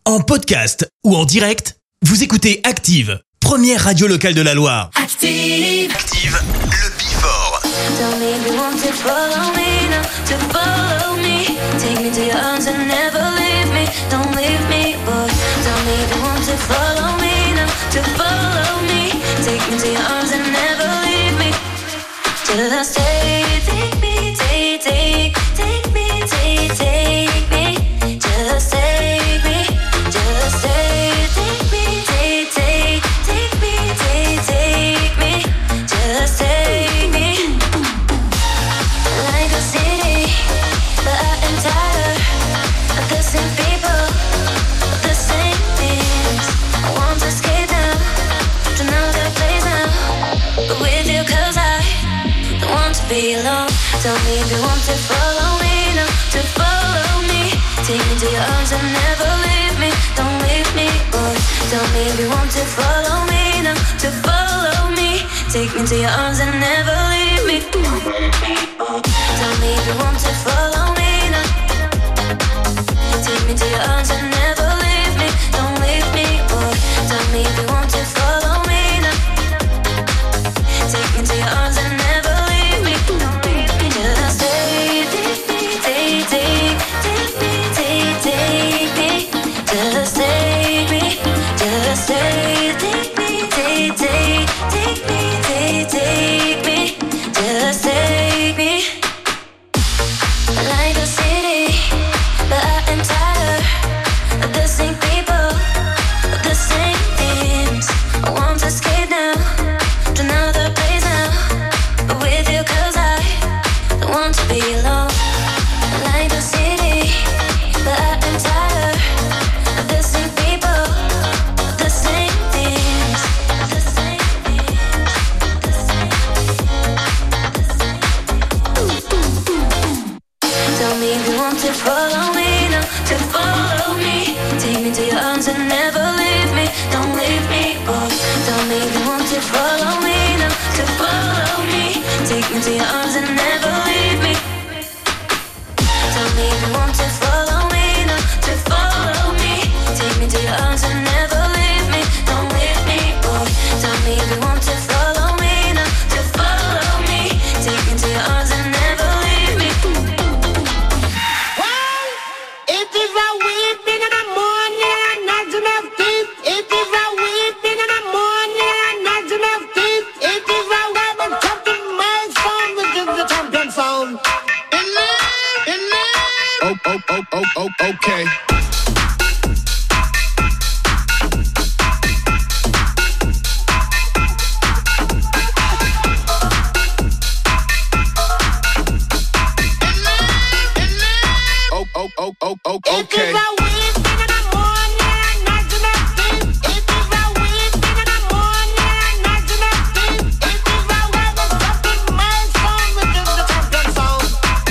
En podcast ou en direct, vous écoutez Active, première radio locale de la Loire. Active, le Before. Don't make me want to follow me, no, to follow me. Take me to your arms and never leave me, don't leave me, boy. Don't make me want to follow me, no, to follow me. Take me to your arms and never leave me. Till I say, take me, take me, take me. Just take me, just say, take me, take me, take me. Just take me. Like a city, but I am tired of the same people, of the same things. I want to escape now, to another place now. But with you, 'cause I don't want to be alone. Tell me if you want to follow me, no, to follow me. Take me to your arms and never leave me, don't leave me, boy. Tell me if you want to follow me, no, to follow me. Take me to your arms and never leave me. Tell me if you want to follow me, no. Take me to your arms and never leave me, don't leave me, boy. Tell me if you want to follow me, no. Take me to your arms and never leave me, don't leave me. Just say, take me, take me, take me. Just take me, just say, take me, take me, take me. Just take me. Like a city, but I am tired of the same people, of the same things. I want to escape now, to another place now. But with you, 'cause I don't want to be alone. Like a city, but I am tired of the same people, of the same things, of the same things, the same. Tell me if you want to follow me, no, to follow me. Take me to your arms and never leave me, don't leave me, boy. Tell me if you want to follow me, no, to follow me. Take me to your arms and never leave me. Tell me if you want to follow me, no, to follow me. Take me to your arms and never leave me, don't leave me, boy. Tell me if you want to follow me, no, to follow me. Take me to your arms and never leave me. Well, it is a weeping in the morning and not enough teeth. It is a weeping in the morning and not enough teeth. It is a weapon Captain Miles found, which is the champion sound. Okay. Okay. It is a weeping in the morning and not enough teeth. It is a weeping in the morning and not enough teeth. It is a weapon Captain Miles found, which is the champion sound.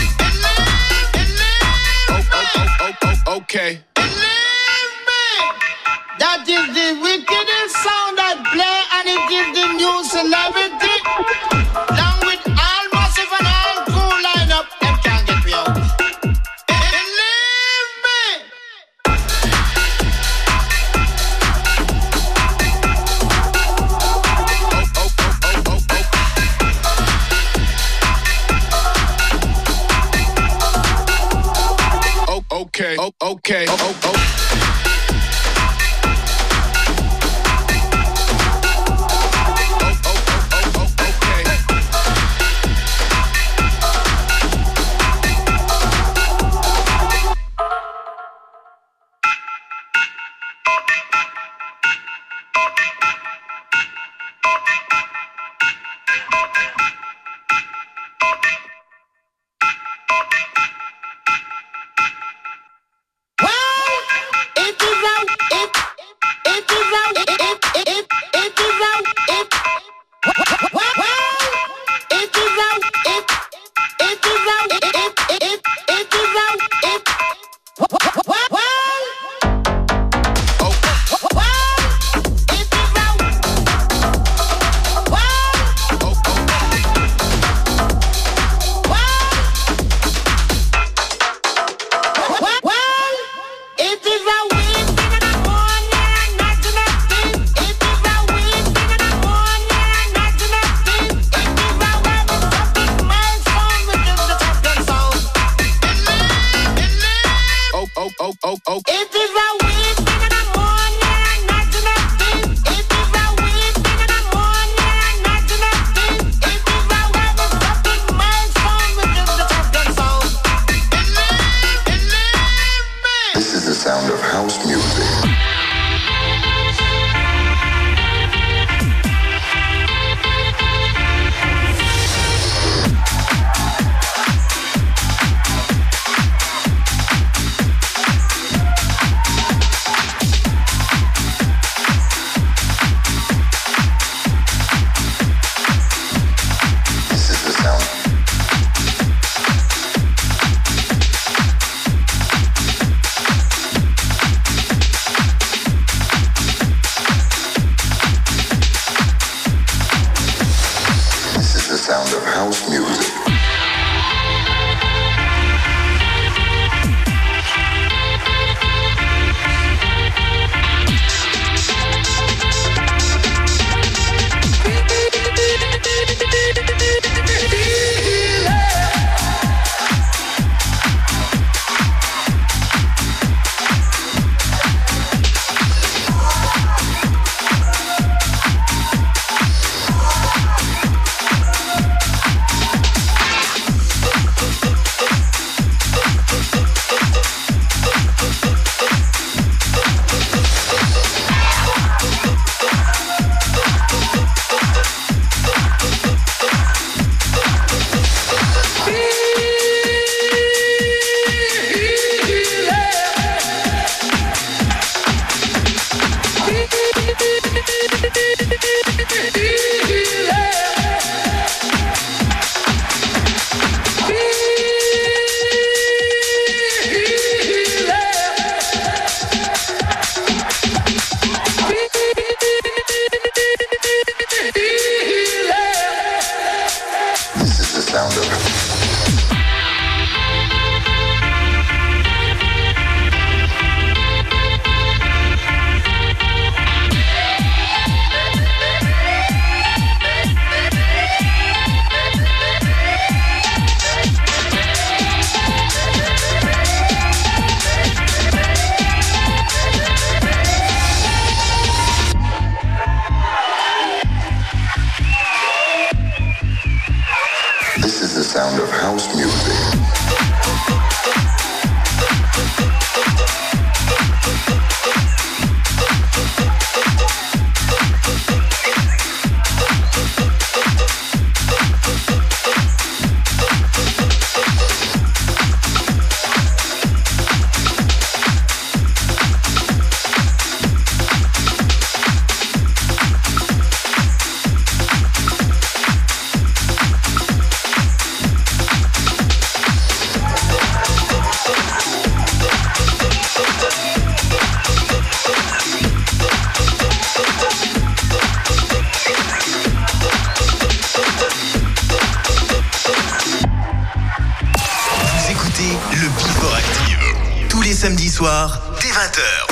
Okay. Believe me, that is the wickedest sound that play, and it is the new celebrity. Along with all massive and all cool lineup, them can't get me out. Believe me. Okay. samedi soir, dès 20h.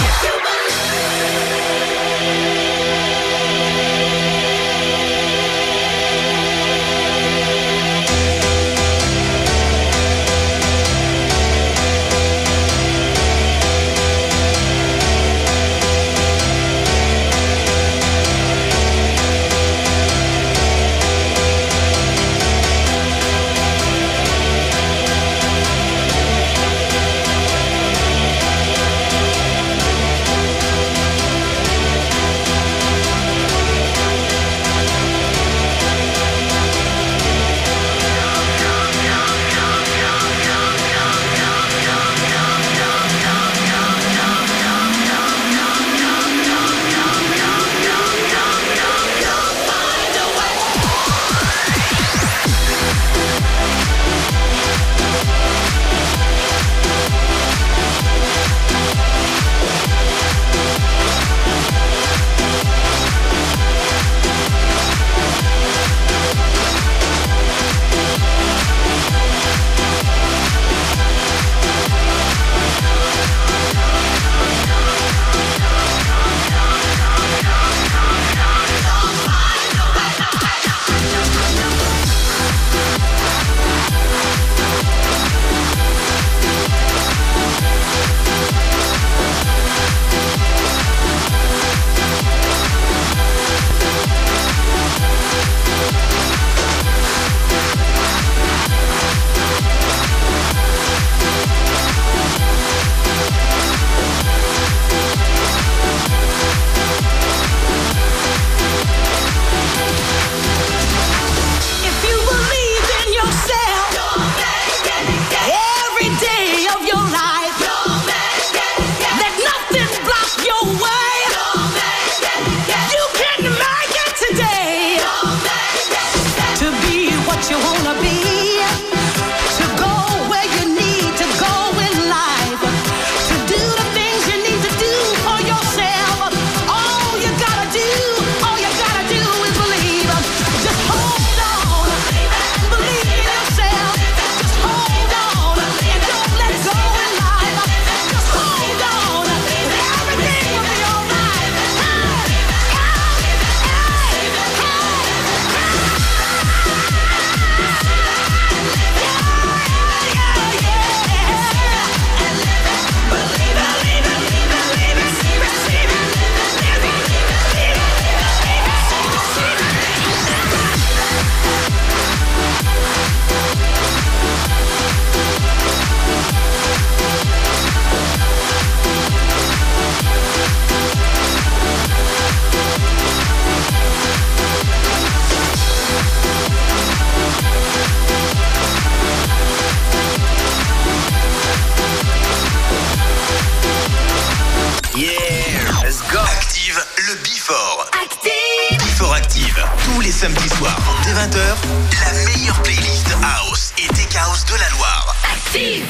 samedi soir, dès 20h, la meilleure playlist House et Tech House de la Loire. Active!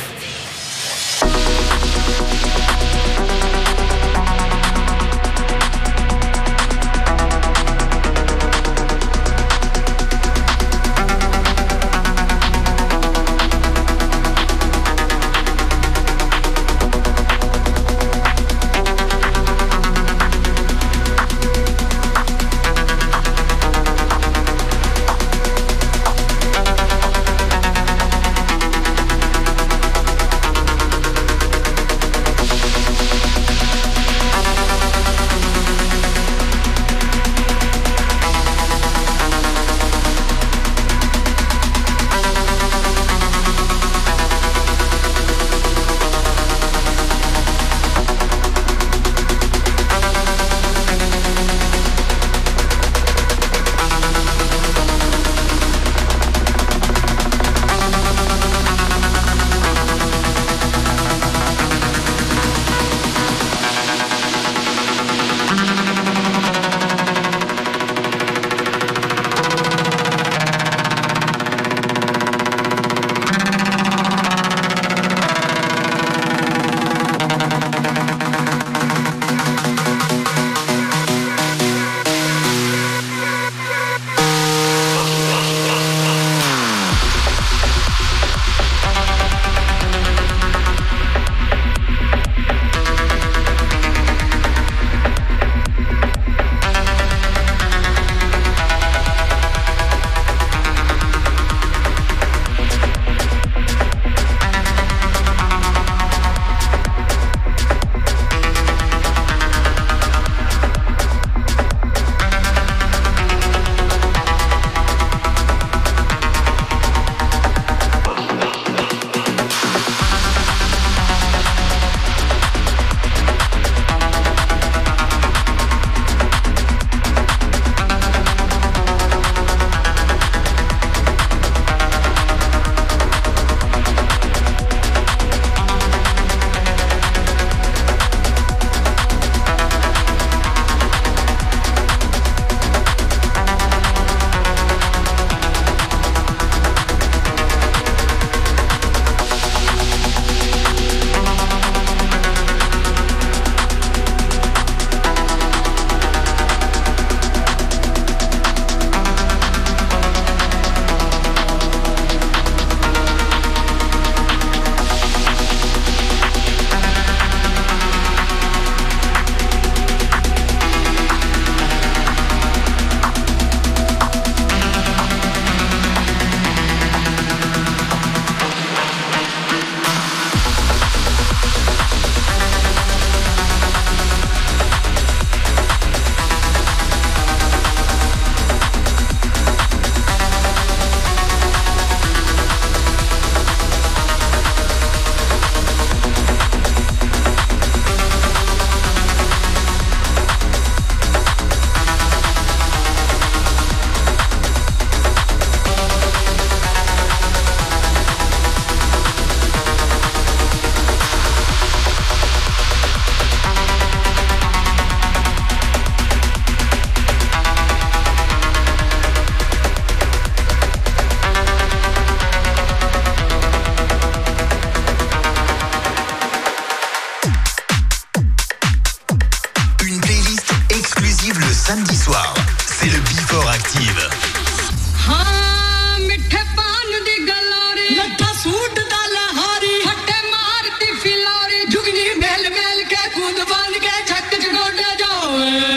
Active le samedi soir. C'est le Before Active. हाँ मिठे पान दी गलोरी लट्ठा suit दा लहारी फटे मारती Phillauri जुगनी mail mail के कूद बांध के छक चढ़ोड़े जाओ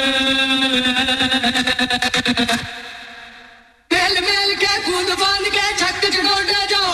मेल मेल के कूद बांध के छक चढ़ोड़े जाओ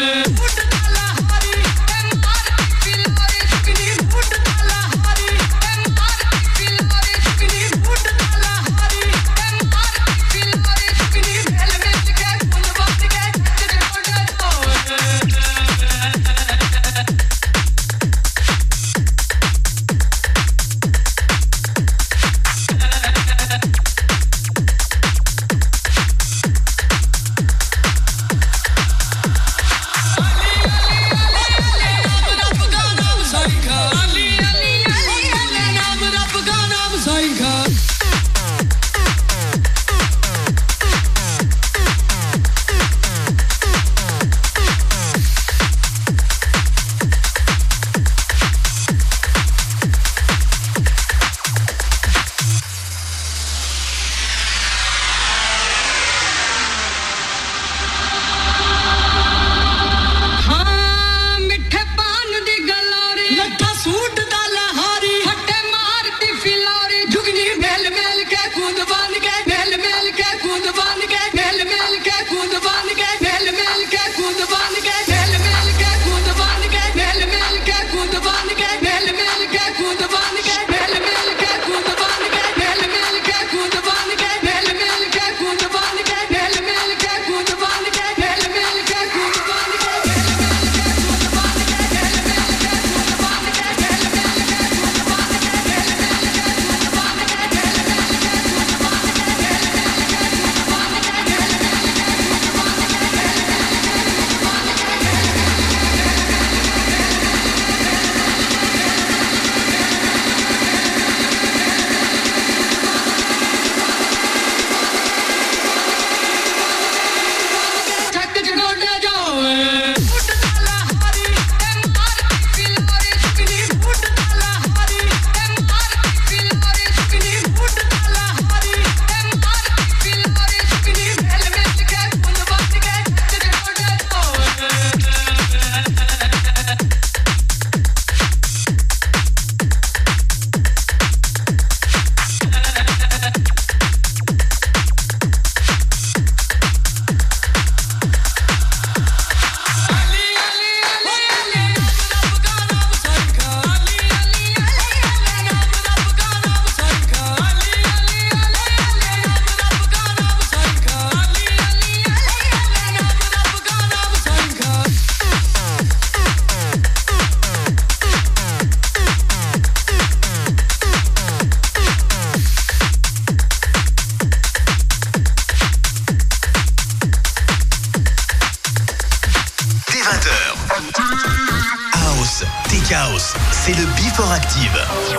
C'est le Before Active.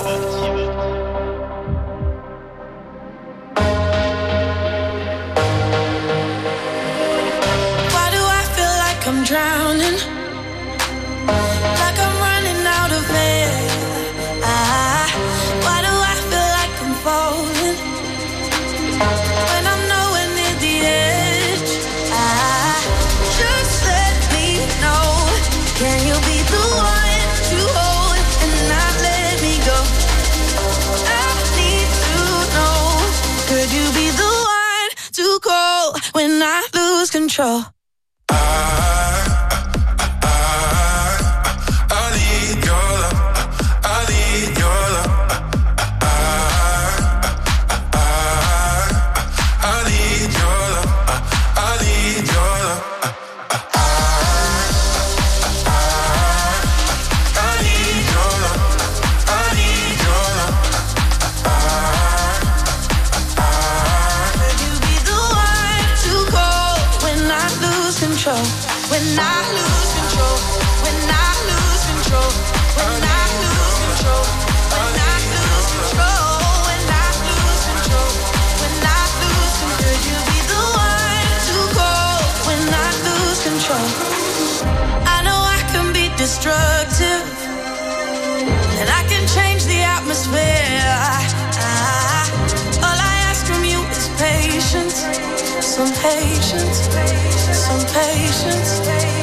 Why do I feel like I'm drowning? Like I'm running out of air. Why do I feel like I'm falling? When I'm nowhere near the edge. Just let me know. Can you be the one to hold and not let me go? I need to know. Could you be the one to call when I lose control? Destructive, and I can change the atmosphere. some patience, some patience.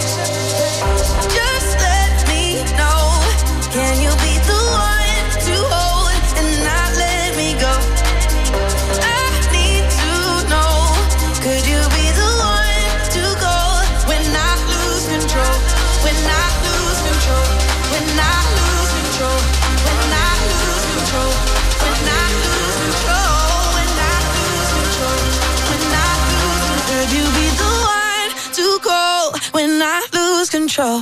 Just let me know. Can you be the one to hold and not let me go? I need to know. Could you be the one to go when I lose control? When I lose control? When I lose control? When I lose control? When I lose control? When I lose control? When I lose control? Could you be the one to go when I lose control?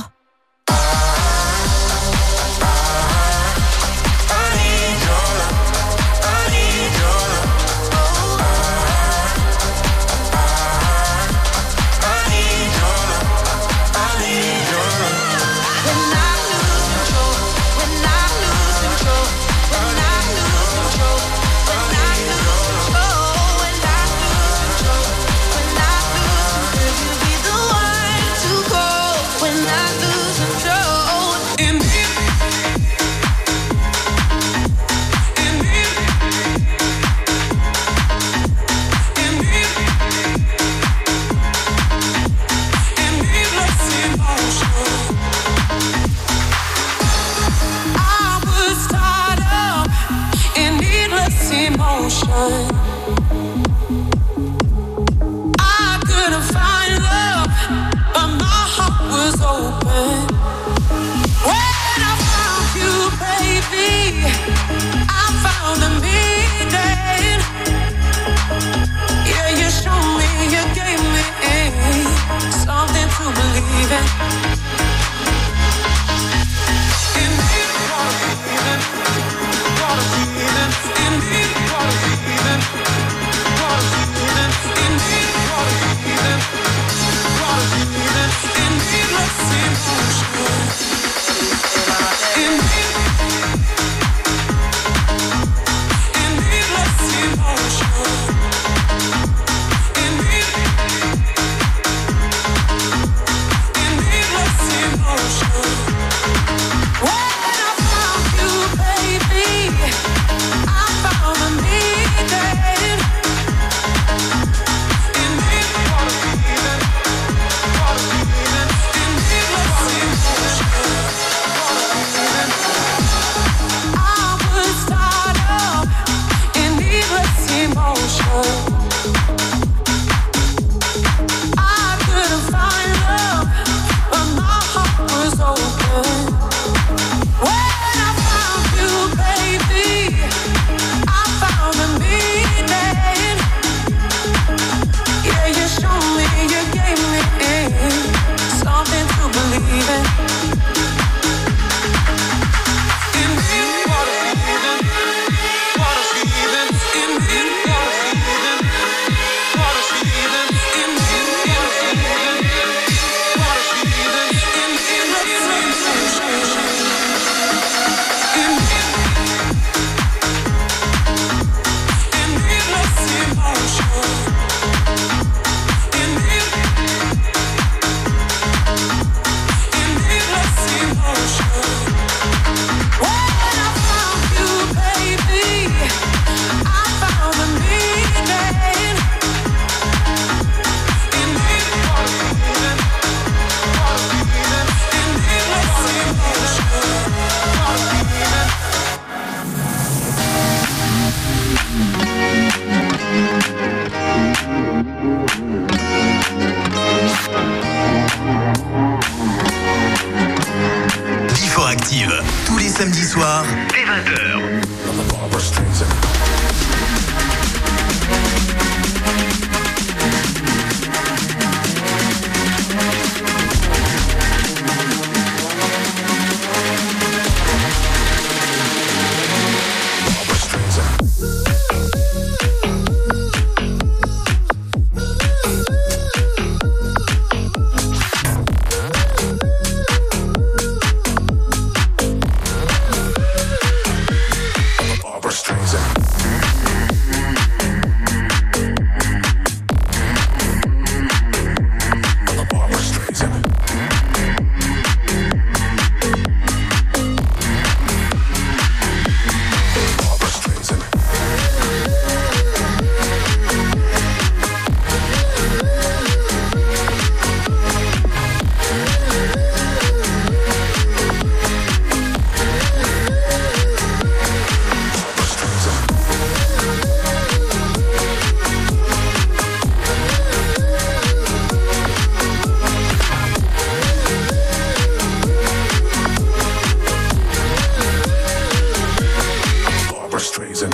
Indeed,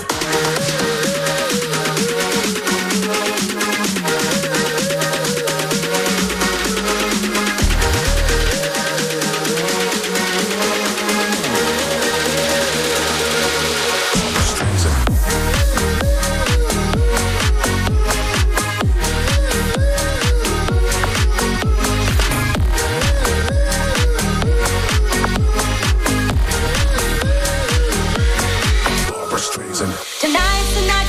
Tonight's the night.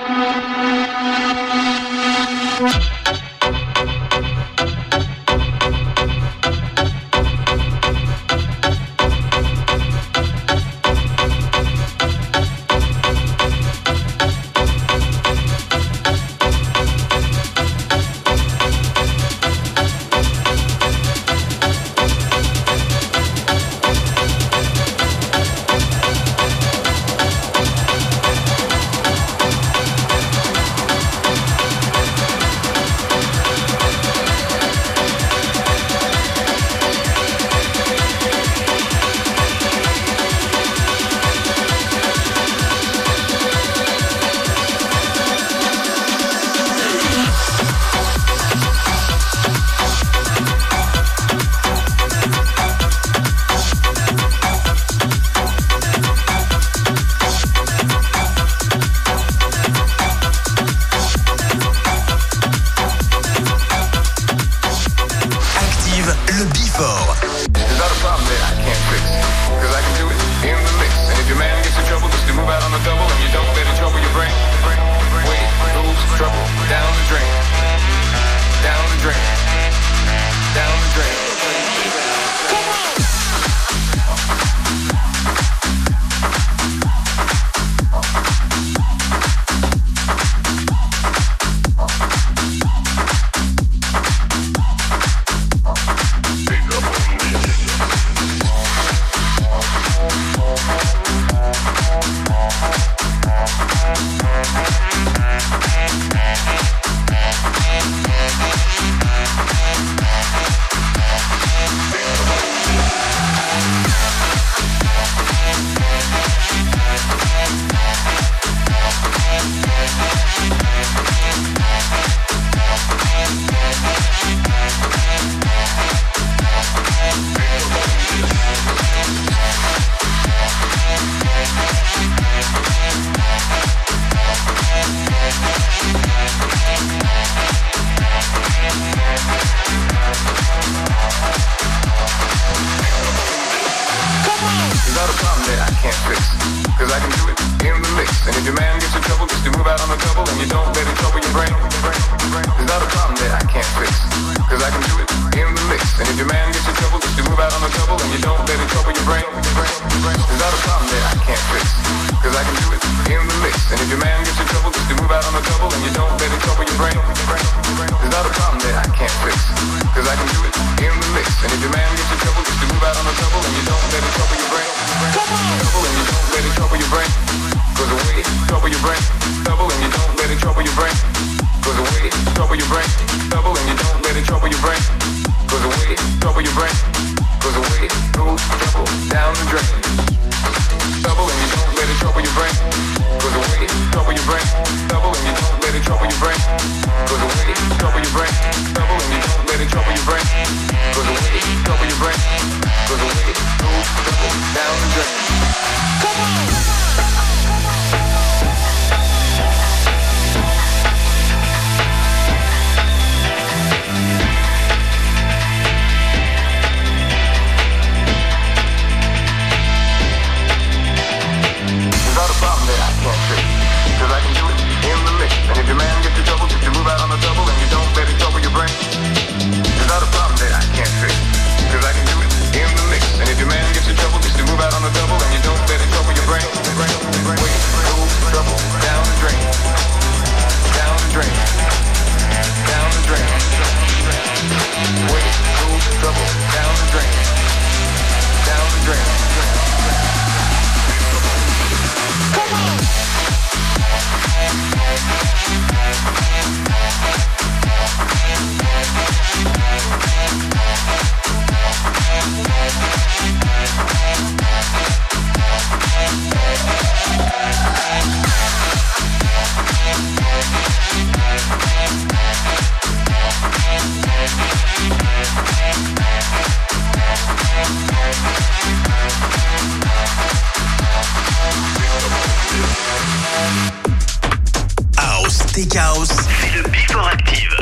Tech House, c'est le Before Active.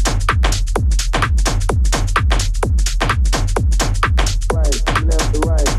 Right, left to right.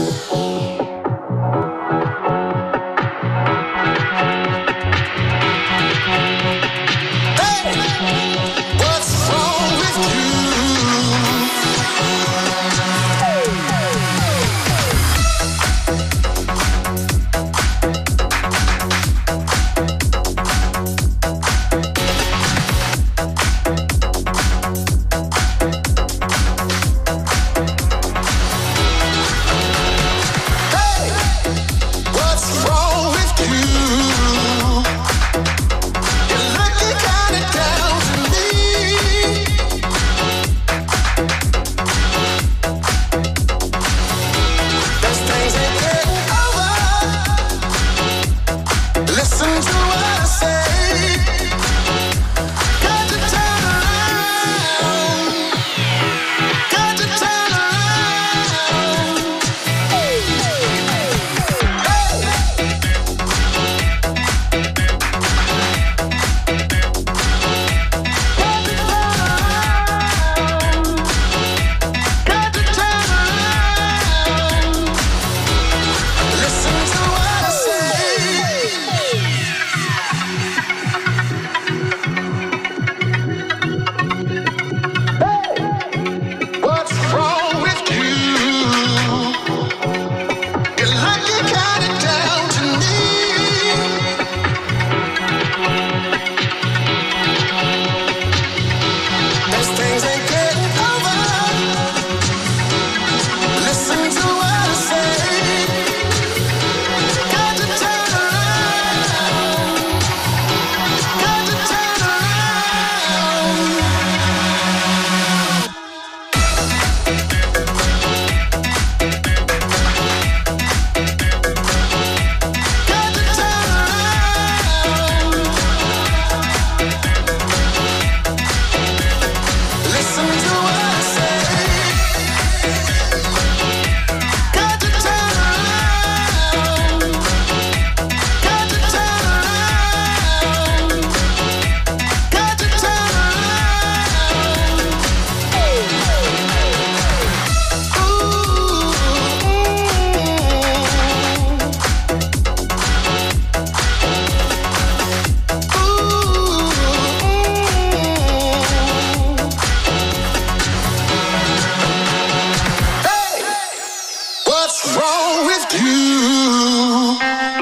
wrong with you?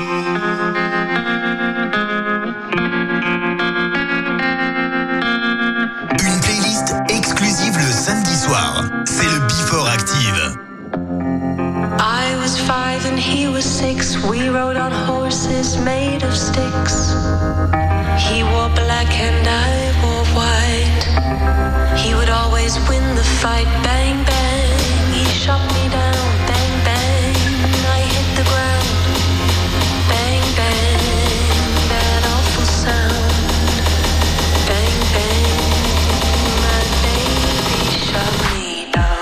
Une playlist exclusive le samedi soir. C'est le Before Active. I was 5 and he was 6. We rode on horses made of sticks. He wore black and I wore white. He would always win the fight. Bang, bang. He shot me down. Bang, bang. I hit the ground. Bang, bang. That awful sound. Bang, bang. My baby shot me down.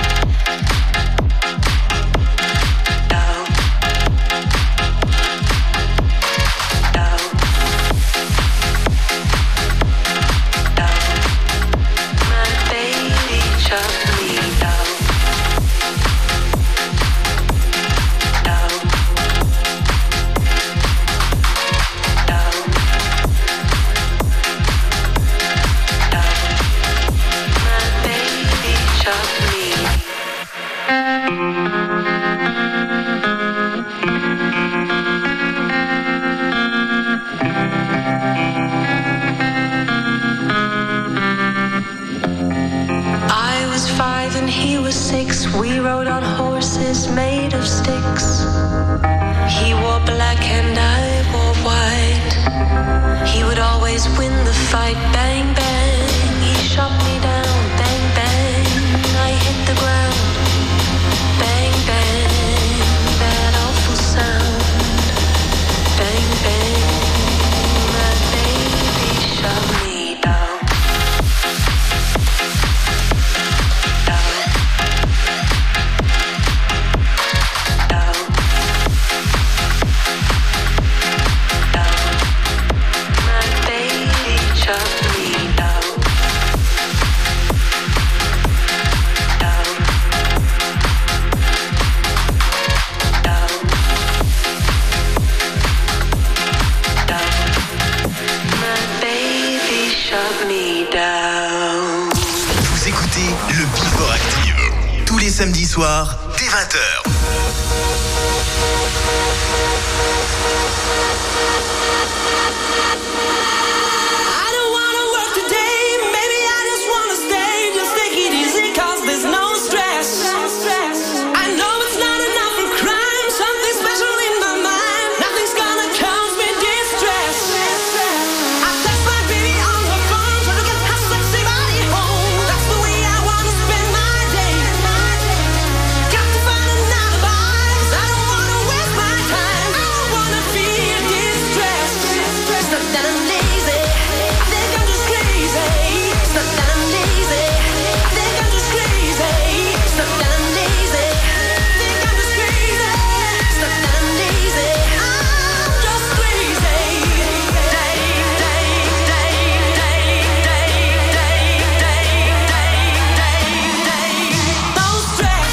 Down. Down. Down. My baby shot me down. Down. Down. Down. My baby shot me. I was 5 and he was 6. We rode on horses made of sticks. He wore black and I wore white. He would always win the fight. Bang, bang. He shot me down. Bang, bang. I hit the ground. Bang, bang. That awful sound. Bang, bang. My baby shot me down. Down. Down. Down. My baby shot me down. Down. Down. Down. My baby shot me down. Vous écoutez le Before Active. Tous les samedis soirs, dès 20h. I don't wanna work today, maybe I just wanna stay. Just take it easy, 'cause there's no stress. I know it's not enough for crime, something special in my mind. Nothing's gonna cause me distress. I text my baby on her phone, trying to get her sexy body home. That's the way I wanna spend my day. Got to find an alibi, 'cause I don't wanna waste my time. I don't wanna feel distressed. It's not that I'm lazy, I think I'm just crazy. It's not that I'm lazy, I think I'm just crazy. It's not that I'm lazy, I think I'm just crazy. It's not that I'm lazy, I'm just crazy. Day, day, day, day, day, day, day, day, day, day. No stress.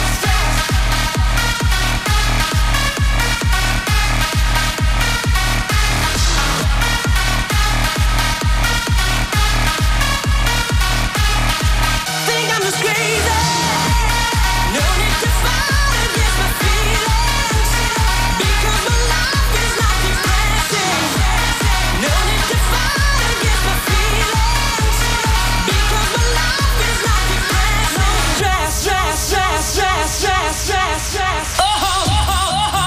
Think I'm just crazy. No need to fight against my feelings, because my life is not depressing. No need to fight against my feelings, because my life is not depressing. Stress, stress, stress, stress, stress, stress, stress. Oh, oh, oh, oh,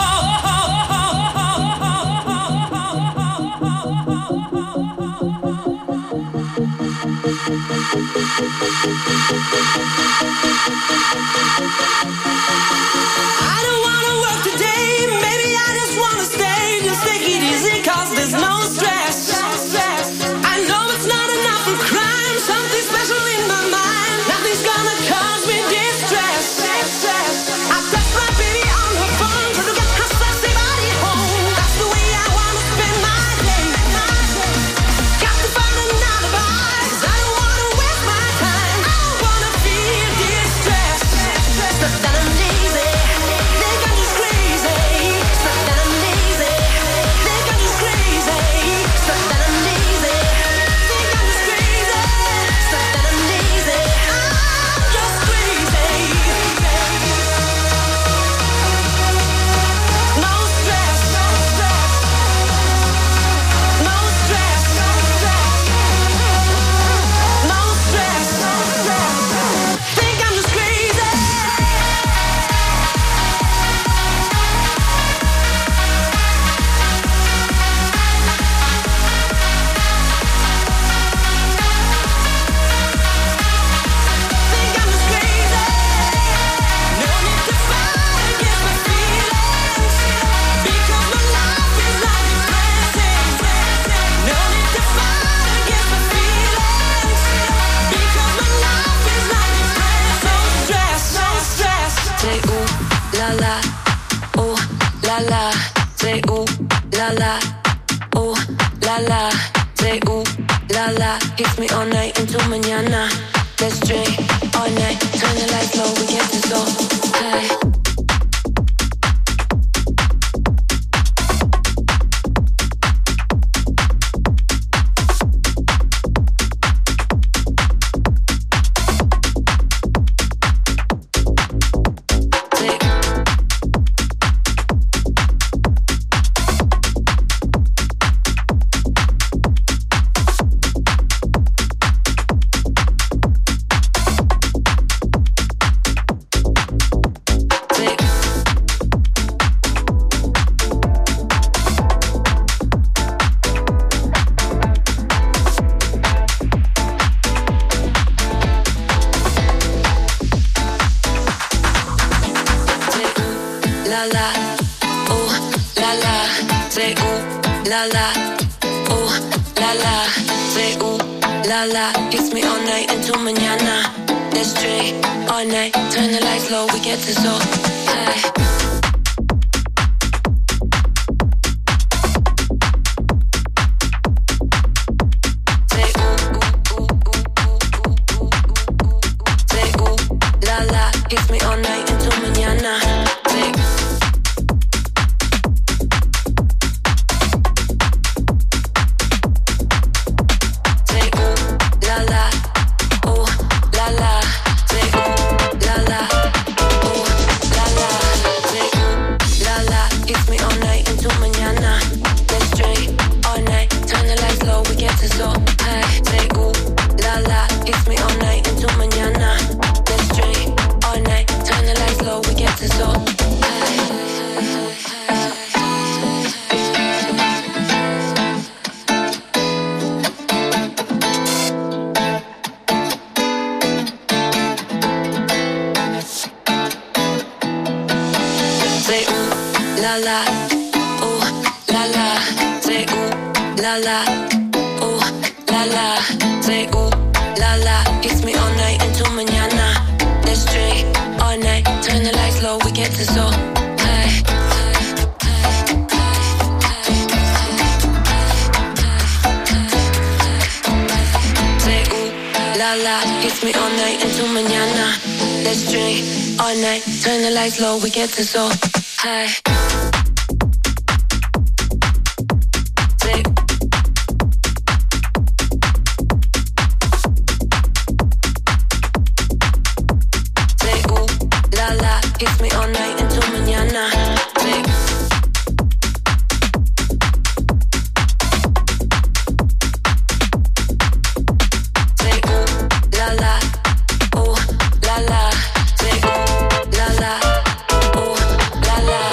I don't wanna work today, maybe I just wanna stay. Just take it easy, 'cause there's no stress. I know it's not enough for crime, something special in my mind. Nothing's gonna cause me distress. I text my baby on her phone, trying to get her sexy body home. That's the way I wanna spend my day. Got to find an alibi, 'cause I don't wanna waste my time. I don't wanna feel distressed. It's not that I'm la, ooh la la, say ooh la la, ooh la la, say ooh la la. Hits me all night into mañana. Let's drink all night, turn the lights low, we get this all high. Hits me all night into mañana. Let's drink all night, turn the lights low, we get this all high. Hits me all night into mañana. Say ooh la la, ooh la la. Say ooh la la, ooh la la. Say ooh la la. Hits me all night into mañana. Let's drink all night, turn the lights low, we get this all high. Say ooh la la. Hits me all night into mañana. Let's drink all night, turn the lights low, we get this all high. Say ooh la la, ooh la la. Say ooh la la, ooh la la. Say ooh la la. Hits me all night into mañana. Let's drink all night, turn the lights low, we get this all high. Say ooh la la. Hits me all night into mañana. Let's drink all night, turn the lights low, we get this all high. Say ooh la la. Hits me all night into mañana. Say ooh la la, ooh la la. Say ooh la la, ooh la la.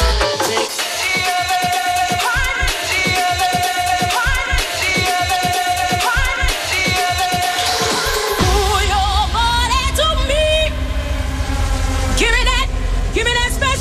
Pull your body to me. Give me that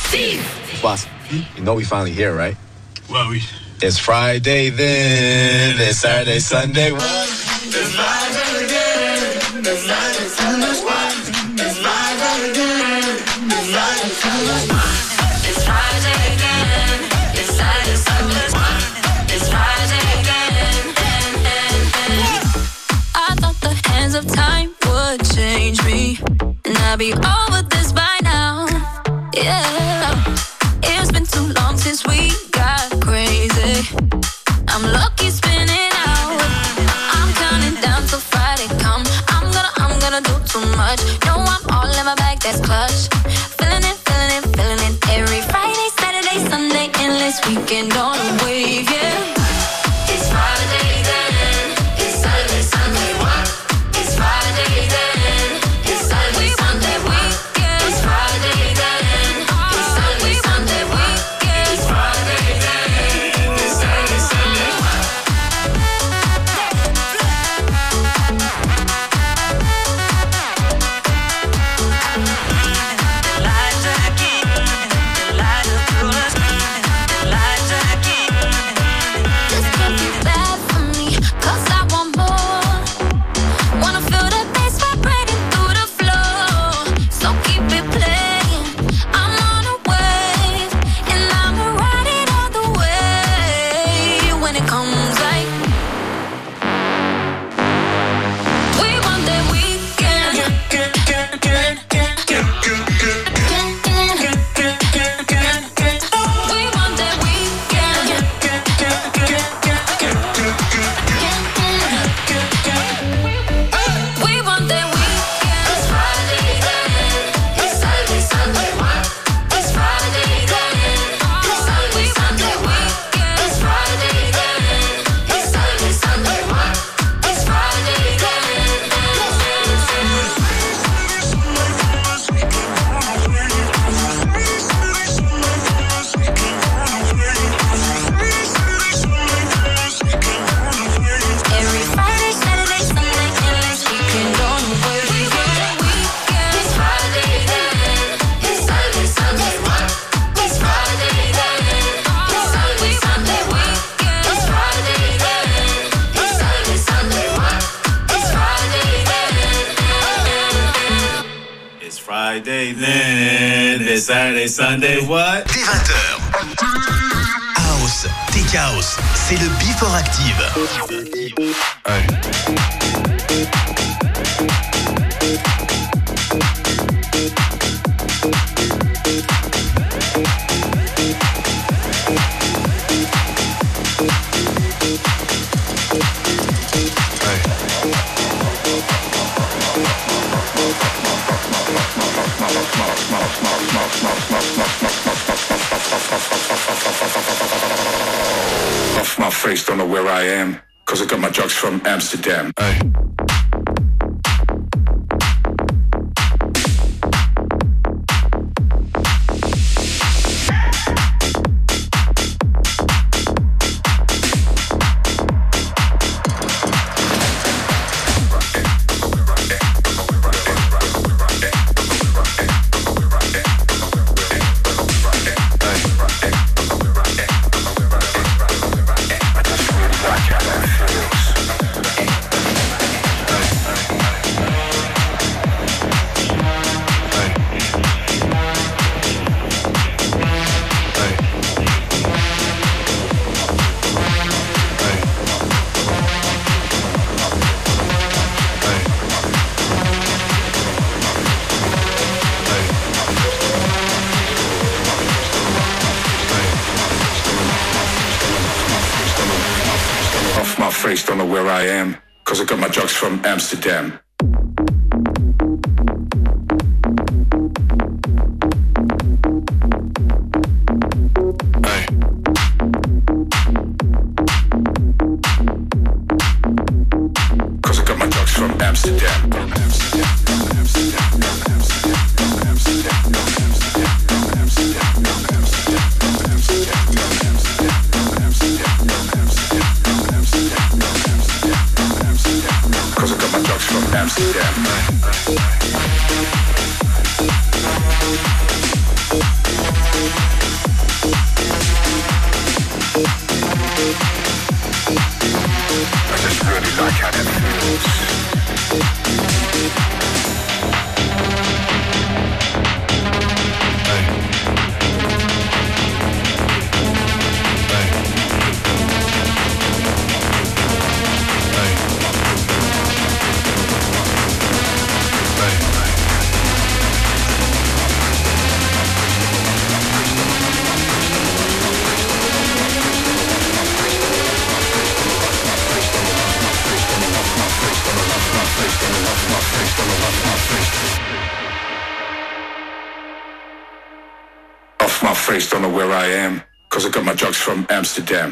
Boss, you know we finally here, right? Well, It's Friday then, it's Saturday, Sunday. It's Friday again. It's Friday, Sunday. It's Friday again. It's Friday, Sunday. It's Friday again. It's Saturday, Sunday. It's Friday again. I thought the hands of time would change me, and I'd be over this by now. Yeah, it's been too long since we got crazy. I'm lucky spinning out. I'm counting down till Friday come. I'm gonna do too much. No, I'm all in my bag, that's clutch. Feeling it. Every Friday, Saturday, Sunday, endless weekend on a wave, yeah. It's Friday then. It's Saturday, Sunday, what? It's Friday then. It's Saturday, Sunday, weekend. It's Friday then. It's Saturday, Sunday, weekend. It's Friday then. It's Saturday, Sunday, what? This can't be bad for me, 'cause I want more. Wanna feel the bass vibrating through the floor. So keep it playing. I'm on a wave, and I'ma ride it all the way. When it comes like we want that weekend. We want that weekend. We want that weekend. It's Friday then. It's Saturday, Sunday, what? It's Friday then. It's Saturday, Sunday, weekend. It's Friday then. It's Saturday, Sunday, what? It's Friday then. Every Friday, Saturday, Sunday, endless weekend on the way. It's Friday then. It's Saturday, Sunday, what? It's Friday then. It's Saturday, Sunday, weekend. It's Friday then. It's Saturday, Sunday, what? It's Friday then. It's Friday then. It's Saturday, Sunday, what? Dès 20h. House, Tech House, c'est le Before Active. Off my face, don't know where I am, 'cause I got my drugs from Amsterdam. Off my face, don't know where I am, 'cause I got my drugs from Amsterdam. Cause I got my drugs from Amsterdam. Cause I got my drugs from Amsterdam. off my face, don't know where I am, cause I got my drugs from Amsterdam.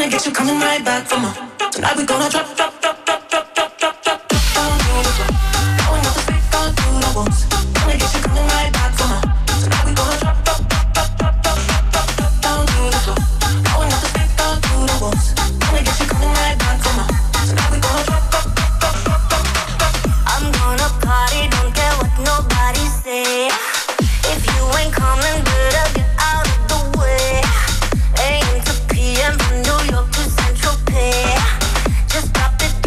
get you coming right back for more. Tonight we gonna drop, drop, drop, drop, drop, drop, drop, drop, drop down to the floor. Going off the street, down to the walls. Gonna get you coming right back for more. Tonight we gonna drop, drop, drop, drop, drop, drop, drop, drop, drop down to the floor. Going off the street, down to the walls. Gonna get you coming right back for more. Tonight we gonna drop, drop, drop, drop, drop, drop, drop. I'm gonna party, don't care what nobody say. If you ain't coming, better get out of the way. AM to PM from New York to Central Pay. Just drop it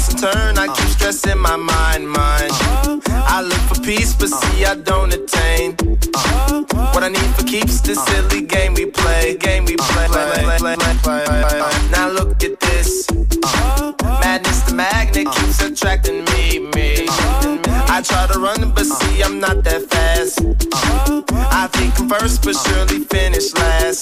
toss and turn, I keep stressing my mind. I look for peace, but see I don't attain. What I need for keeps this silly game we play. Now look at this. Madness, the magnet keeps attracting me. I try to run, but see I'm not that fast. I think I'm first, but surely finish last.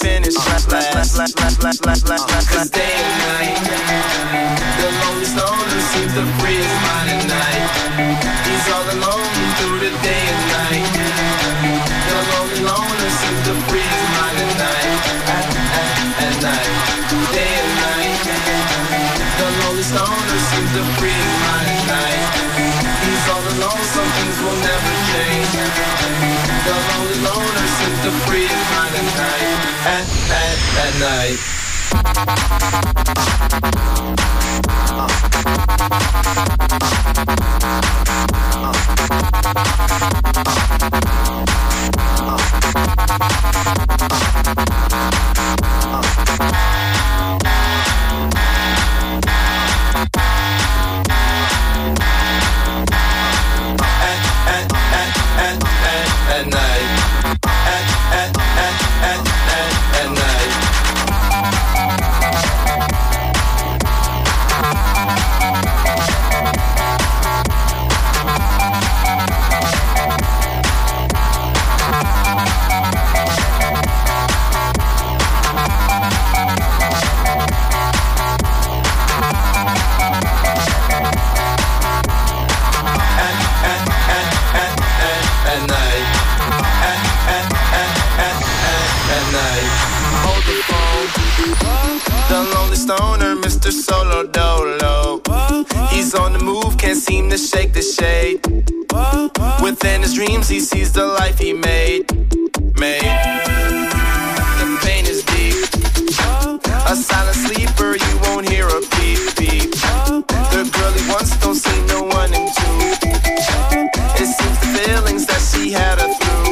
Cause day and night, the lonely stoner seems to free his mind at night. He's all alone through the day and night. The lonely loner seems to free his mind at night. At night, day and night. The lonely stoner seems to free his mind at night. He's all alone, some things will never change. The lonely loner seems to free his mind at night. At night. At night. Stoner, Mr. Solo Dolo. He's on the move, can't seem to shake the shade. Within his dreams, he sees the life he made. The pain is deep. A silent sleeper, you won't hear a beep, beep. The girl he wants don't seem to want him to. It seems the feelings that she had her through.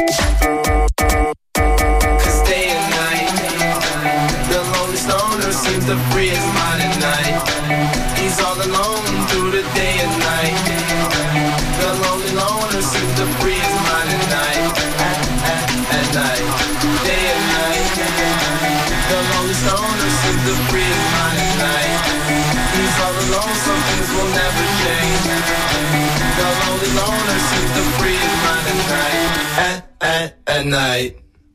Seems to free his mind at night. He's all alone through the day and night. The lonely loner seems to free his mind at night. At night, day and night. The lonely stoner seems to free his mind at night. He's all alone, some things will never change. The lonely loner seems to free his mind at night. At night.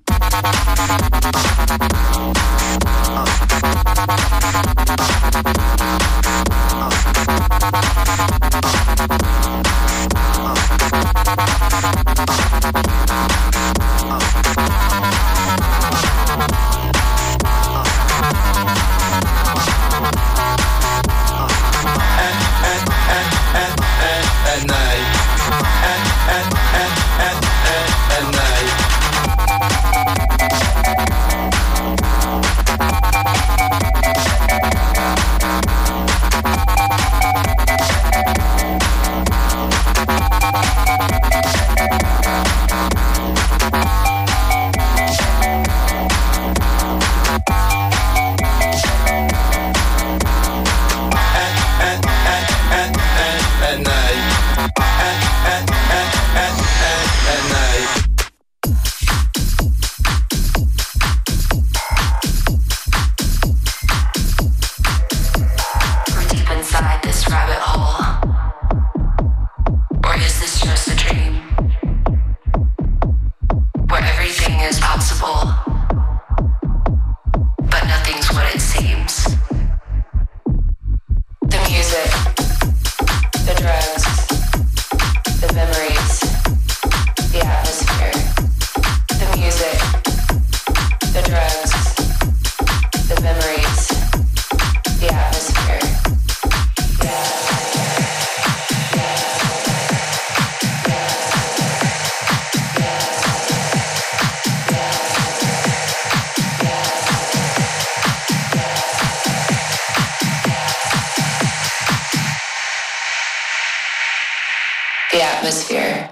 The atmosphere.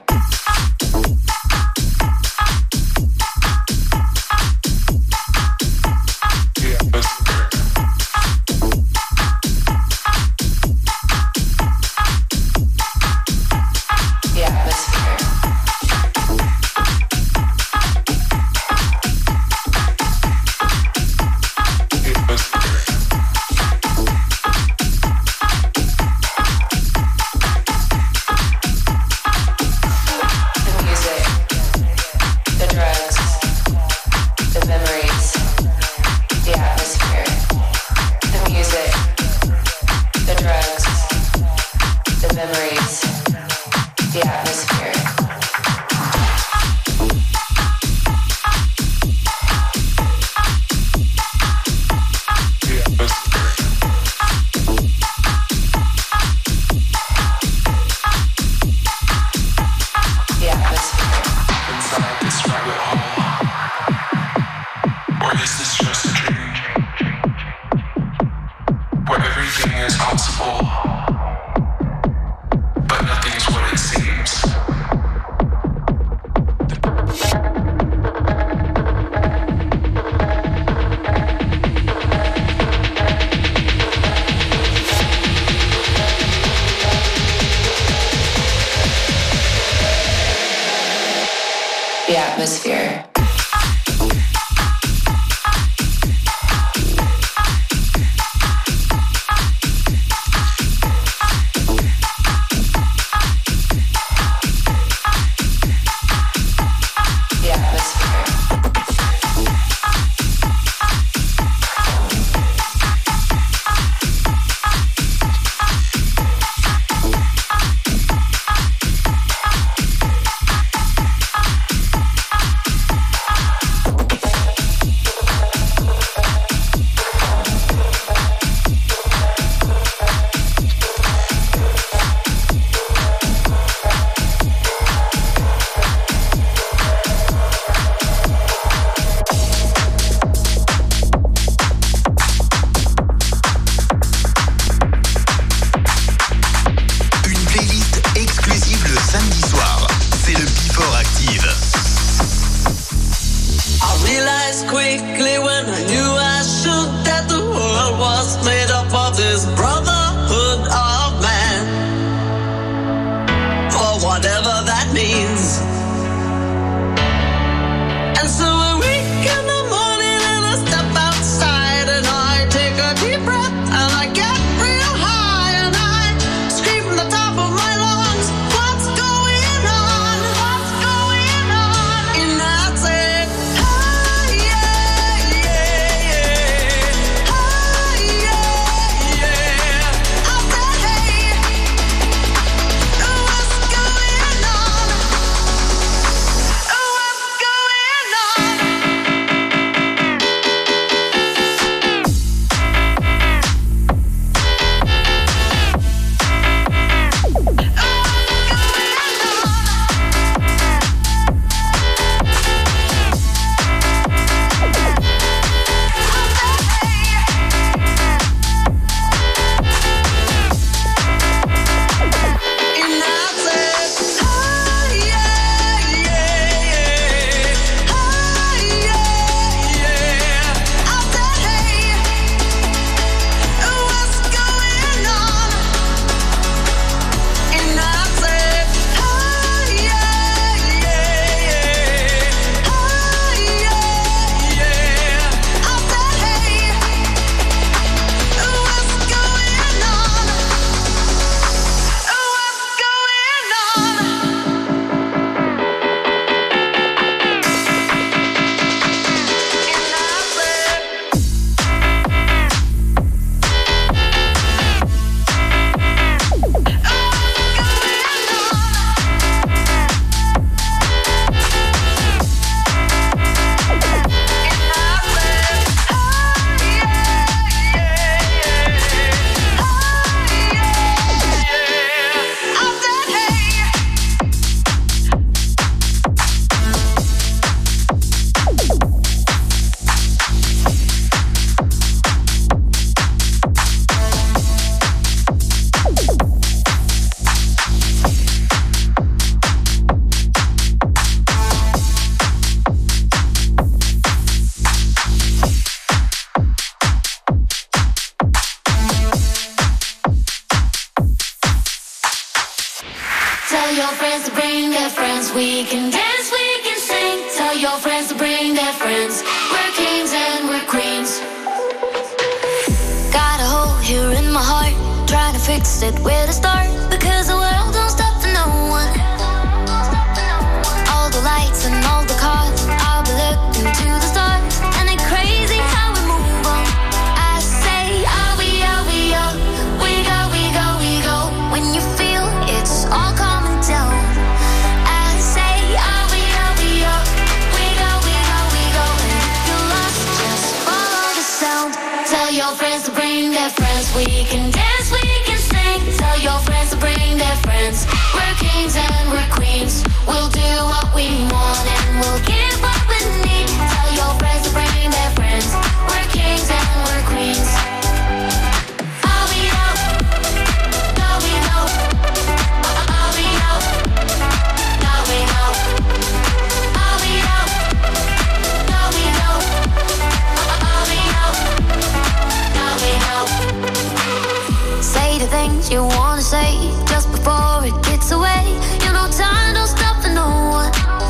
impossible, but nothing is what it seems. The atmosphere. things you wanna say just before it gets away. You know time don't stop for no one.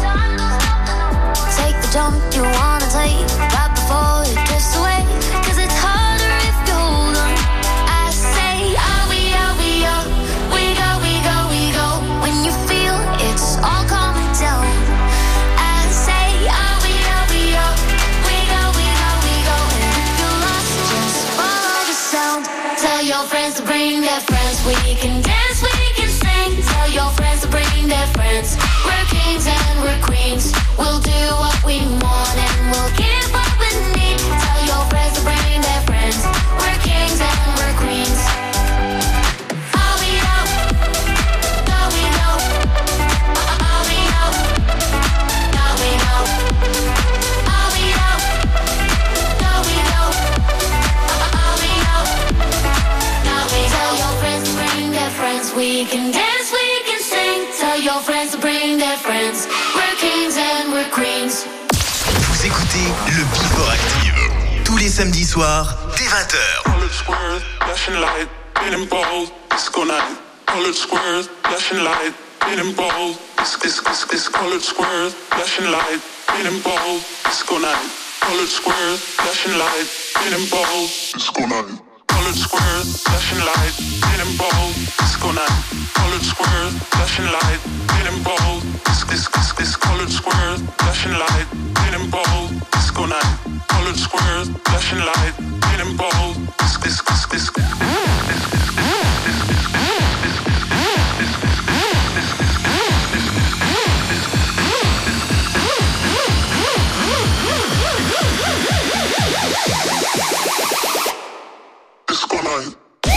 Take the jump you wanna take right before it drifts away. 'Cause it's harder if you hold on. I say, are we up? We go. When you feel it's all coming down. I say, are we up? We go. And if you're lost, just follow the sound. Tell your friends to bring their friends. We can dance, we can sing. Tell your friends to bring their friends. We're kings and we're queens. We'll do what we want and we'll give what we need. Tell your friends to bring their friends. We're kings and we're queens. Are we out? No, we know. Are we out? No, we know. Are we out? No, we know. Are we out? No, we know. Tell your friends to bring their friends. We can dance, we can sing. Tell your friends to bring their friends. We're kings and we're queens. Vous écoutez le Before Active tous les samedis soirs dès 20h. Colored squares, flashing light, getting bold, disco night. Colored squares, flashing light, getting bold, this colored squares, flashing light, getting bold, disco night. Colored squares, flashing light, getting bold, disco night. Colored squares, flashing light, getting bold, disco night. Colored squares, flashing light, getting bold, this colored squares, flashing light, getting bold, disco night. Colored squares, flashing light, getting bold, this disco night.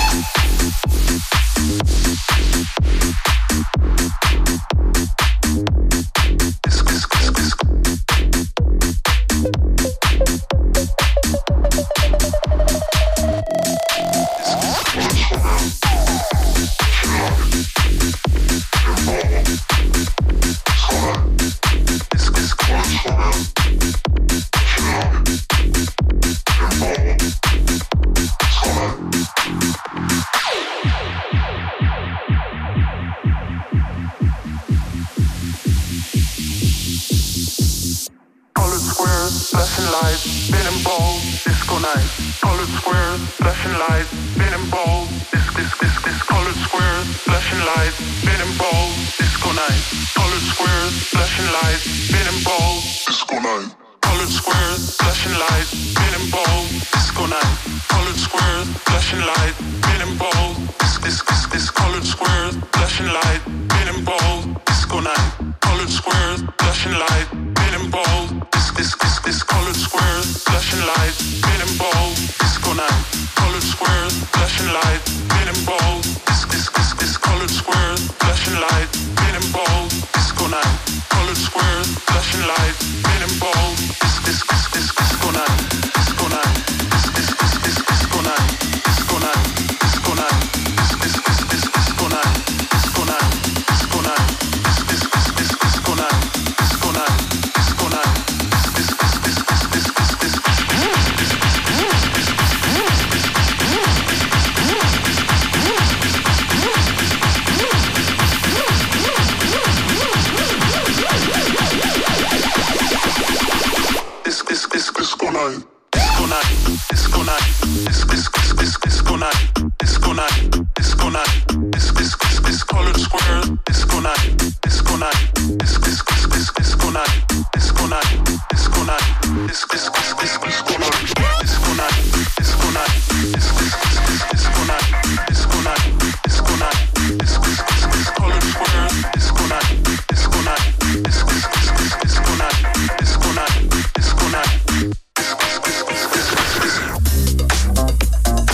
Flashing light, spinning bold, disco night. Colored squares, flashing light, spinning bold, this colored squares, flashing light, spinning bold, disco night. Colored squares, flashing light, spinning bold, disco night. Colored squares, flashing light, spinning bold, disco night. Colored squares, flashing light, spinning bold, this colored squares, flashing light, spinning bold, disco night. Colored squares, flashing light, spinning bold, this colored squares, flashing light, spinning bold, disco night. Colored squares, flashing light, spinning bold, this colored squares, flashing light, spinning bold, disco night. Colored squares, flashing light, spinning bold, this disco night, disco night, this disco night, disco night, disco night, this disco night, disco night, disco night, this disco night, disco night, disco night. Disco night, disco night, disco night, disco night, disco night, disco night, this colored square, disco night, disco night, disco night, disco night, disco night, disco night, disco night, disco night, disco night, disco night, disco night, this colored square, disco night, disco night, disco night, disco night, disco night.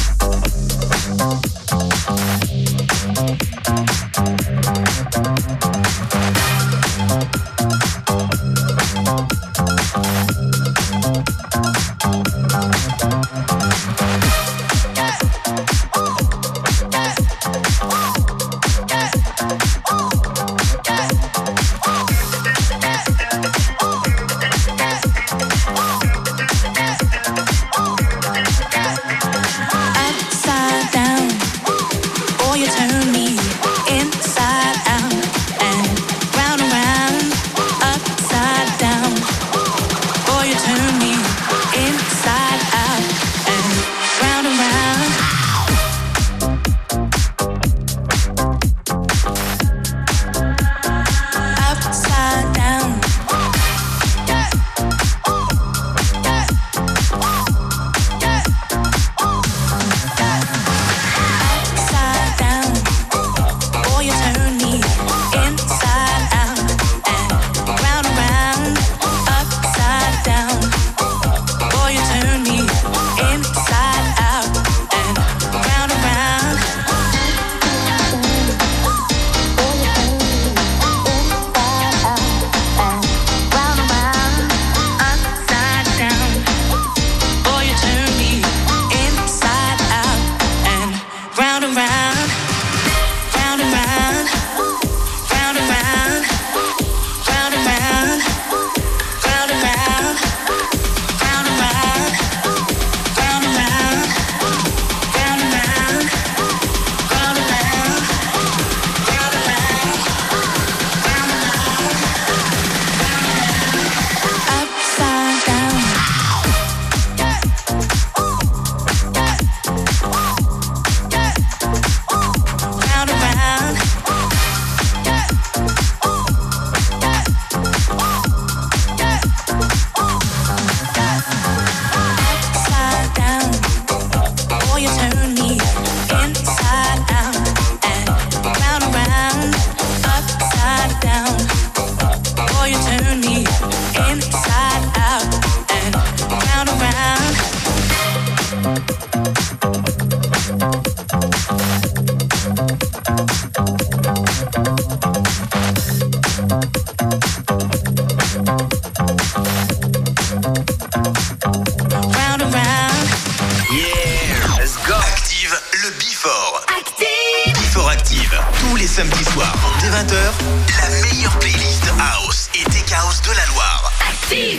Active, le Before. Active. Before Active, tous les samedis soirs, dès 20h, la meilleure playlist House et Tech House de la Loire. Active.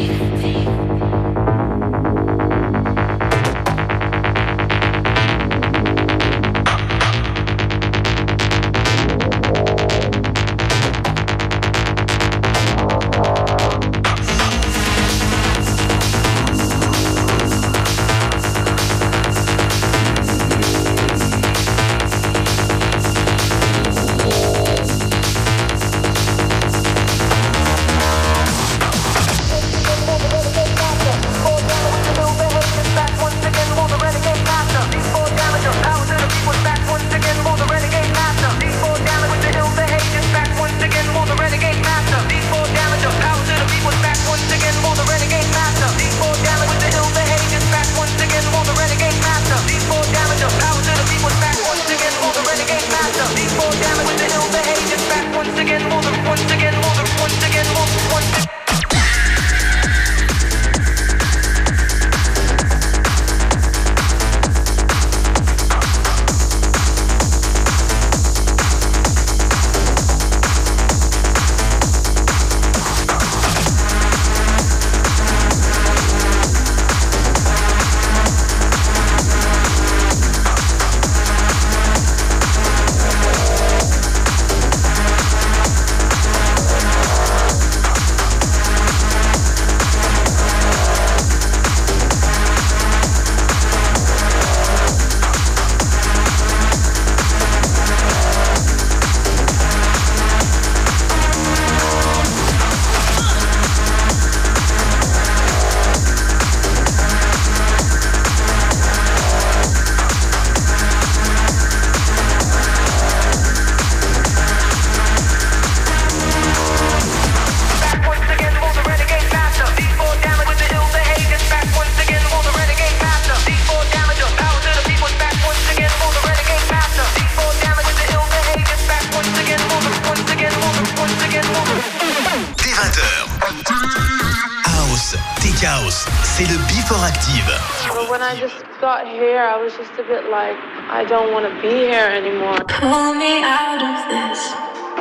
Just a bit like, I don't want to be here anymore. Pull me out of this.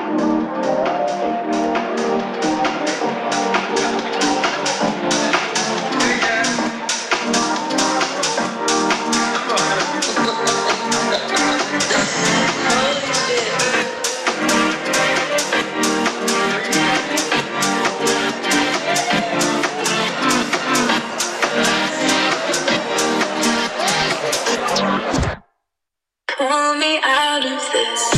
Pull me out of this.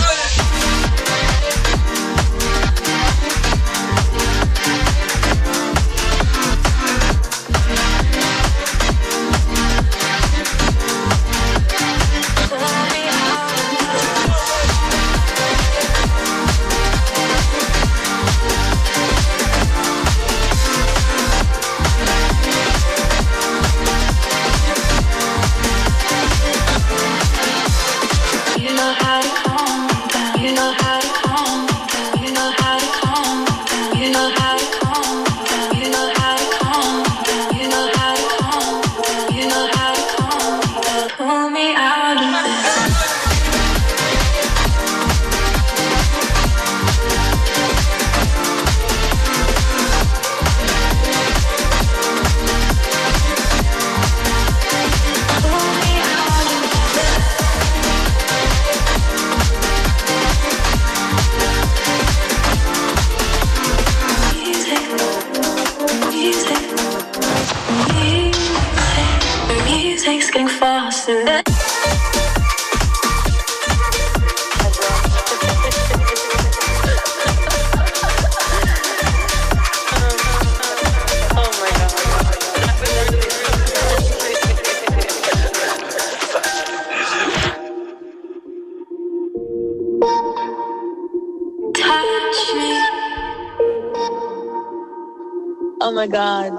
Oh my God.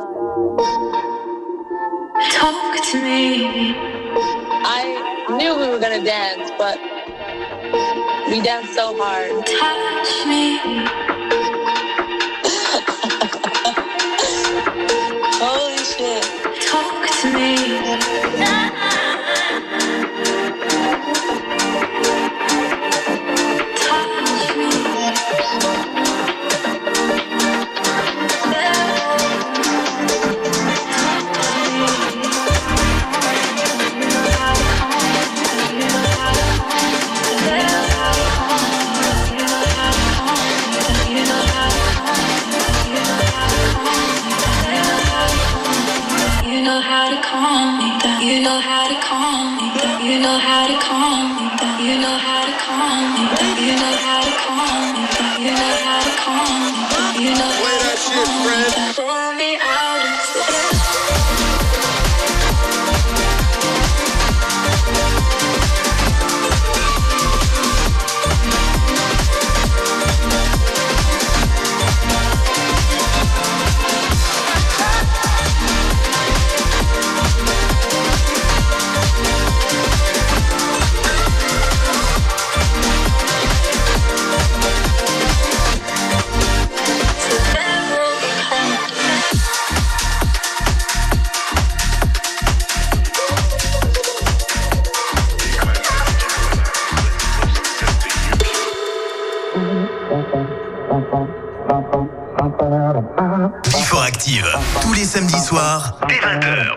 Talk to me. I knew we were gonna dance, but we danced so hard. Touch me. Holy shit. Talk to me. know how to calm me down. You know how to calm me down. You know how to calm me down. You know how to calm me down. You know how to calm me down. Pull me out of this. Before Active, tous les samedis soirs, dès 20h.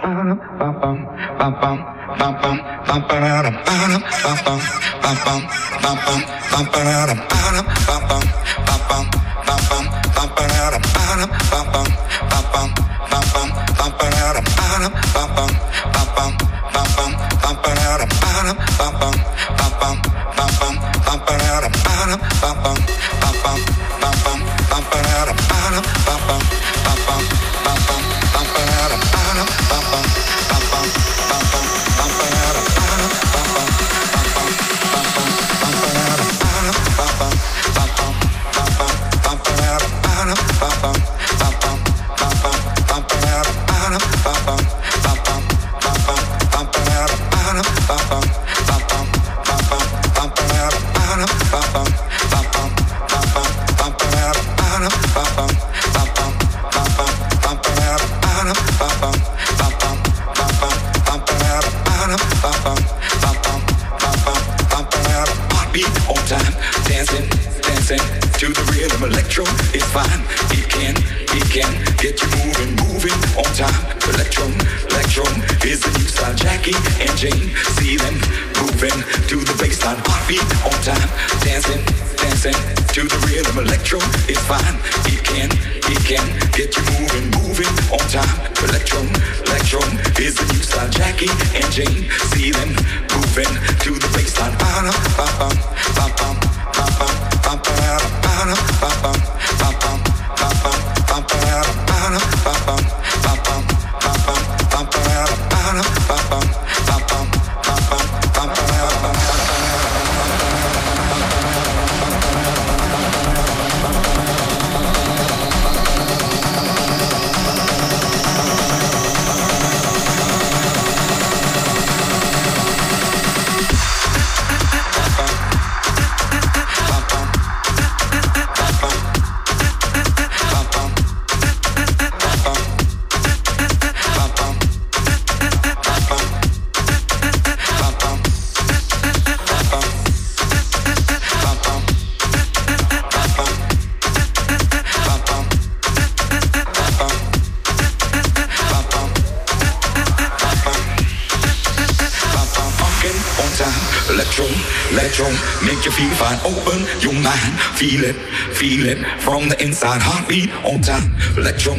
Feel it from the inside, heartbeat on time. Electro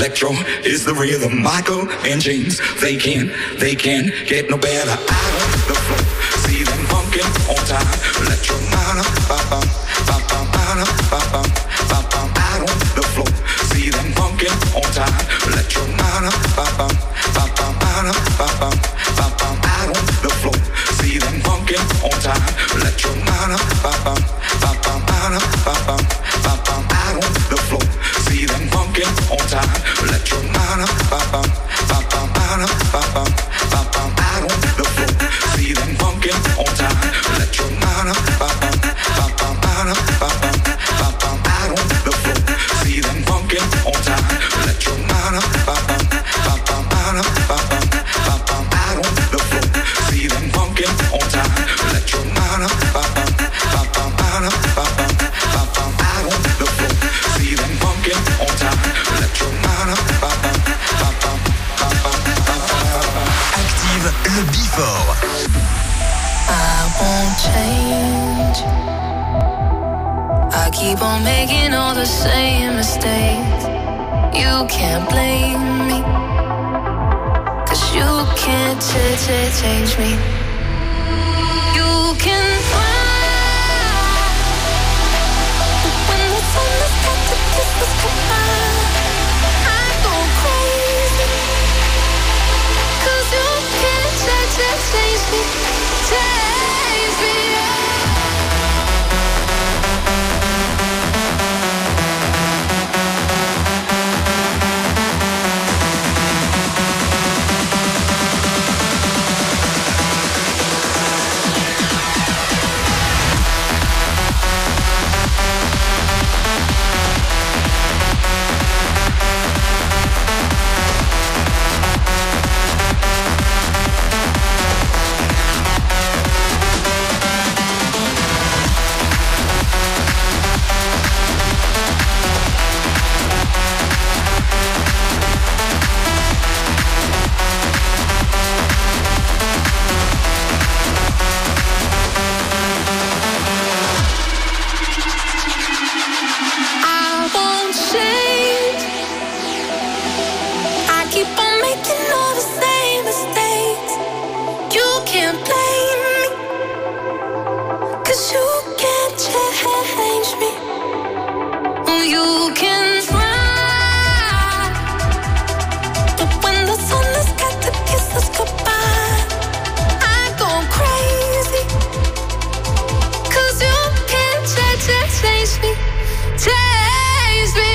is the rhythm. Michael and James, they can't get no better. Out of the flow, see them funkin' on time. Electro, out of the flow, see them funkin' on time. Electro, out of the flow, see them funkin' on time. Electro, out of the flow, see them funkin' on time. Electro, out of the flow, see them funkin' on time. Electro, out of the flow, see them funkin' on time. Electro, out of the flow, see them funkin' on time. Electro, out of the flow, see them funkin' on time. Electro, Active le Before. I won't change. I keep on making all the same mistakes. You can't blame me, 'cause you can't change me. can't blame me, 'cause you can't change me. You can try, but when the sun has got to kiss us goodbye, I go crazy, 'cause you can't change me, change me.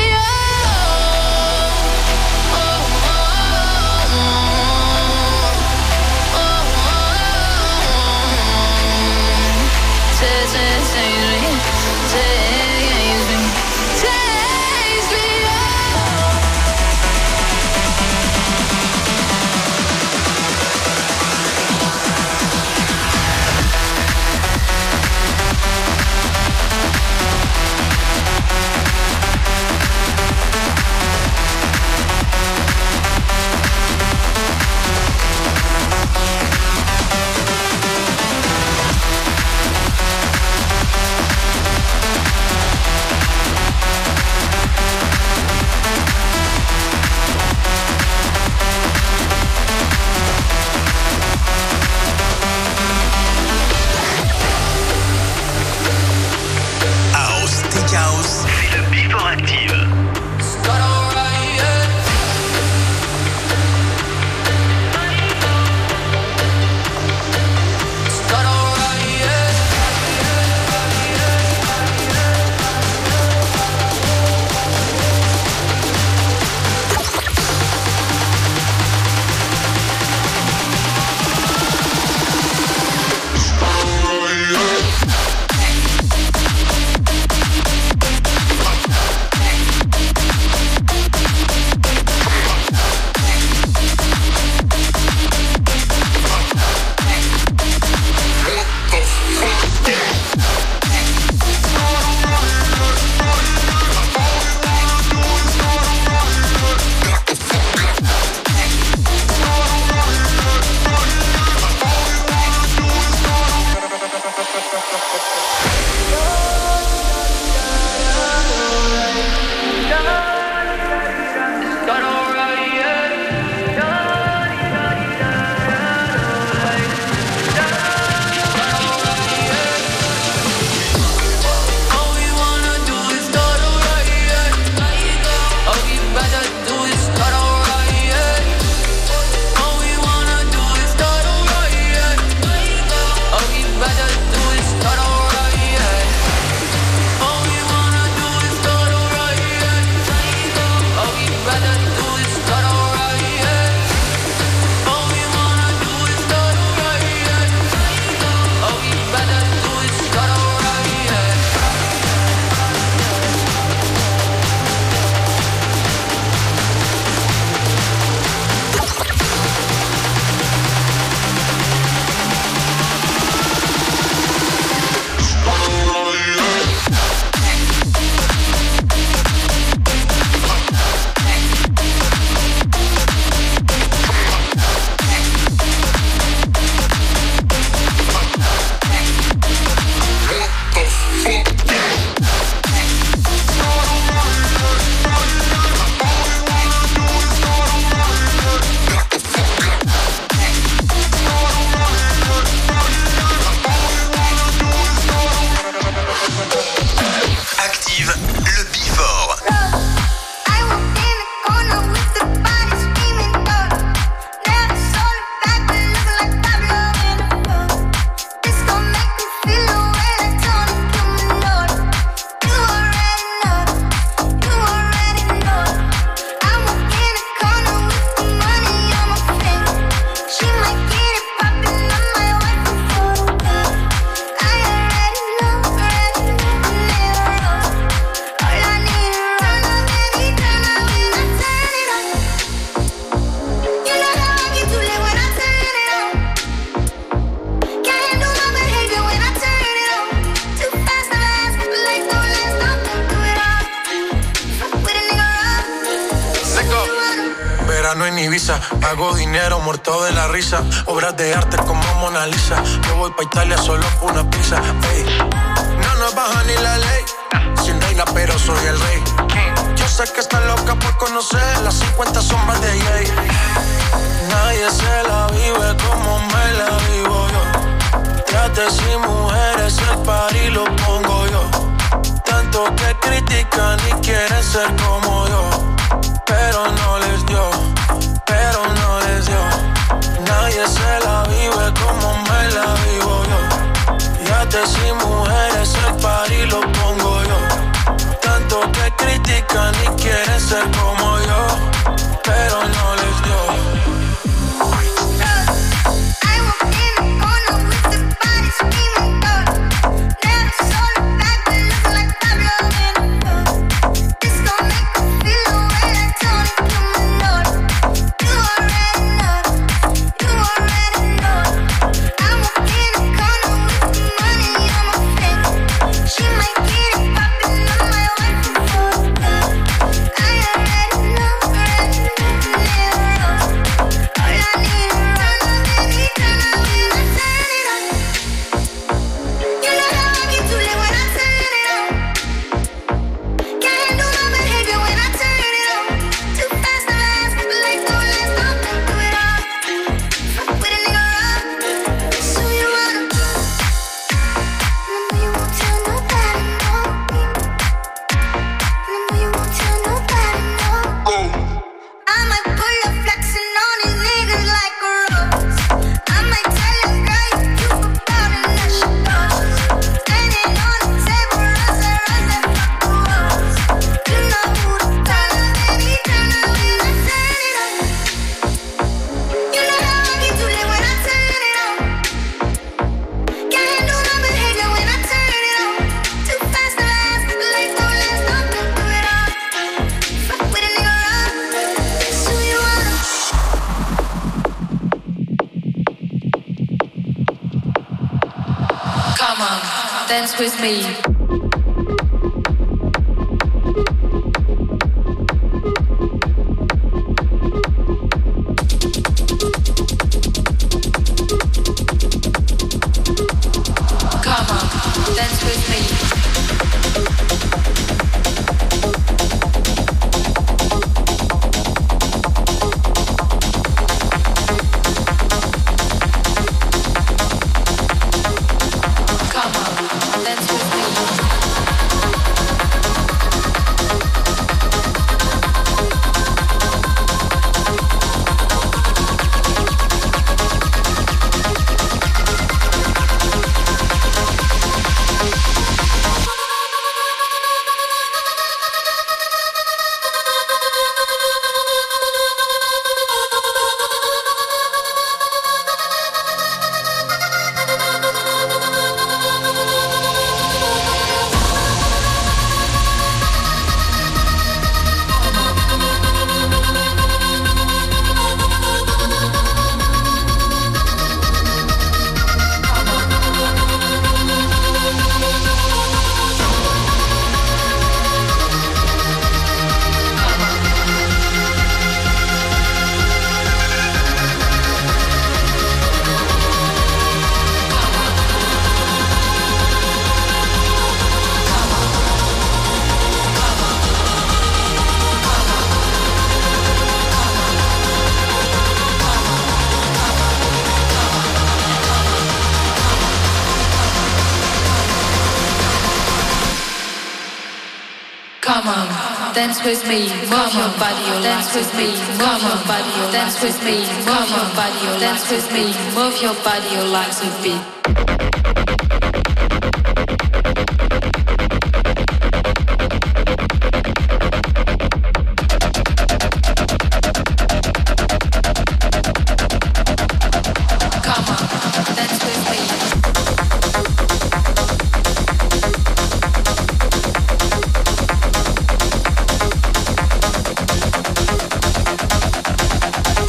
verano en Ibiza. Hago dinero muerto de la risa. Obras de arte como Mona Lisa. Yo voy pa' Italia solo por una pizza. Ey. No nos baja ni la ley. Sin reina pero soy el rey. Yo sé que está loca por conocer las 50 sombras de Jay. Nadie se la vive como me la vivo yo. Fíjate si mujeres el party lo pongo yo. Tanto que critican y quieren ser como yo. Pero no les dio, pero no les dio. Nadie se la vive como me la vivo yo. Fíjate si mujeres el party lo pongo yo. Tanto que critican y quieren ser como yo. Pero no les dio. Dance with me. Come on, dance with me, move your body, dance with me, move your body, dance with me, move your body, dance with me, move your body, your legs a beat.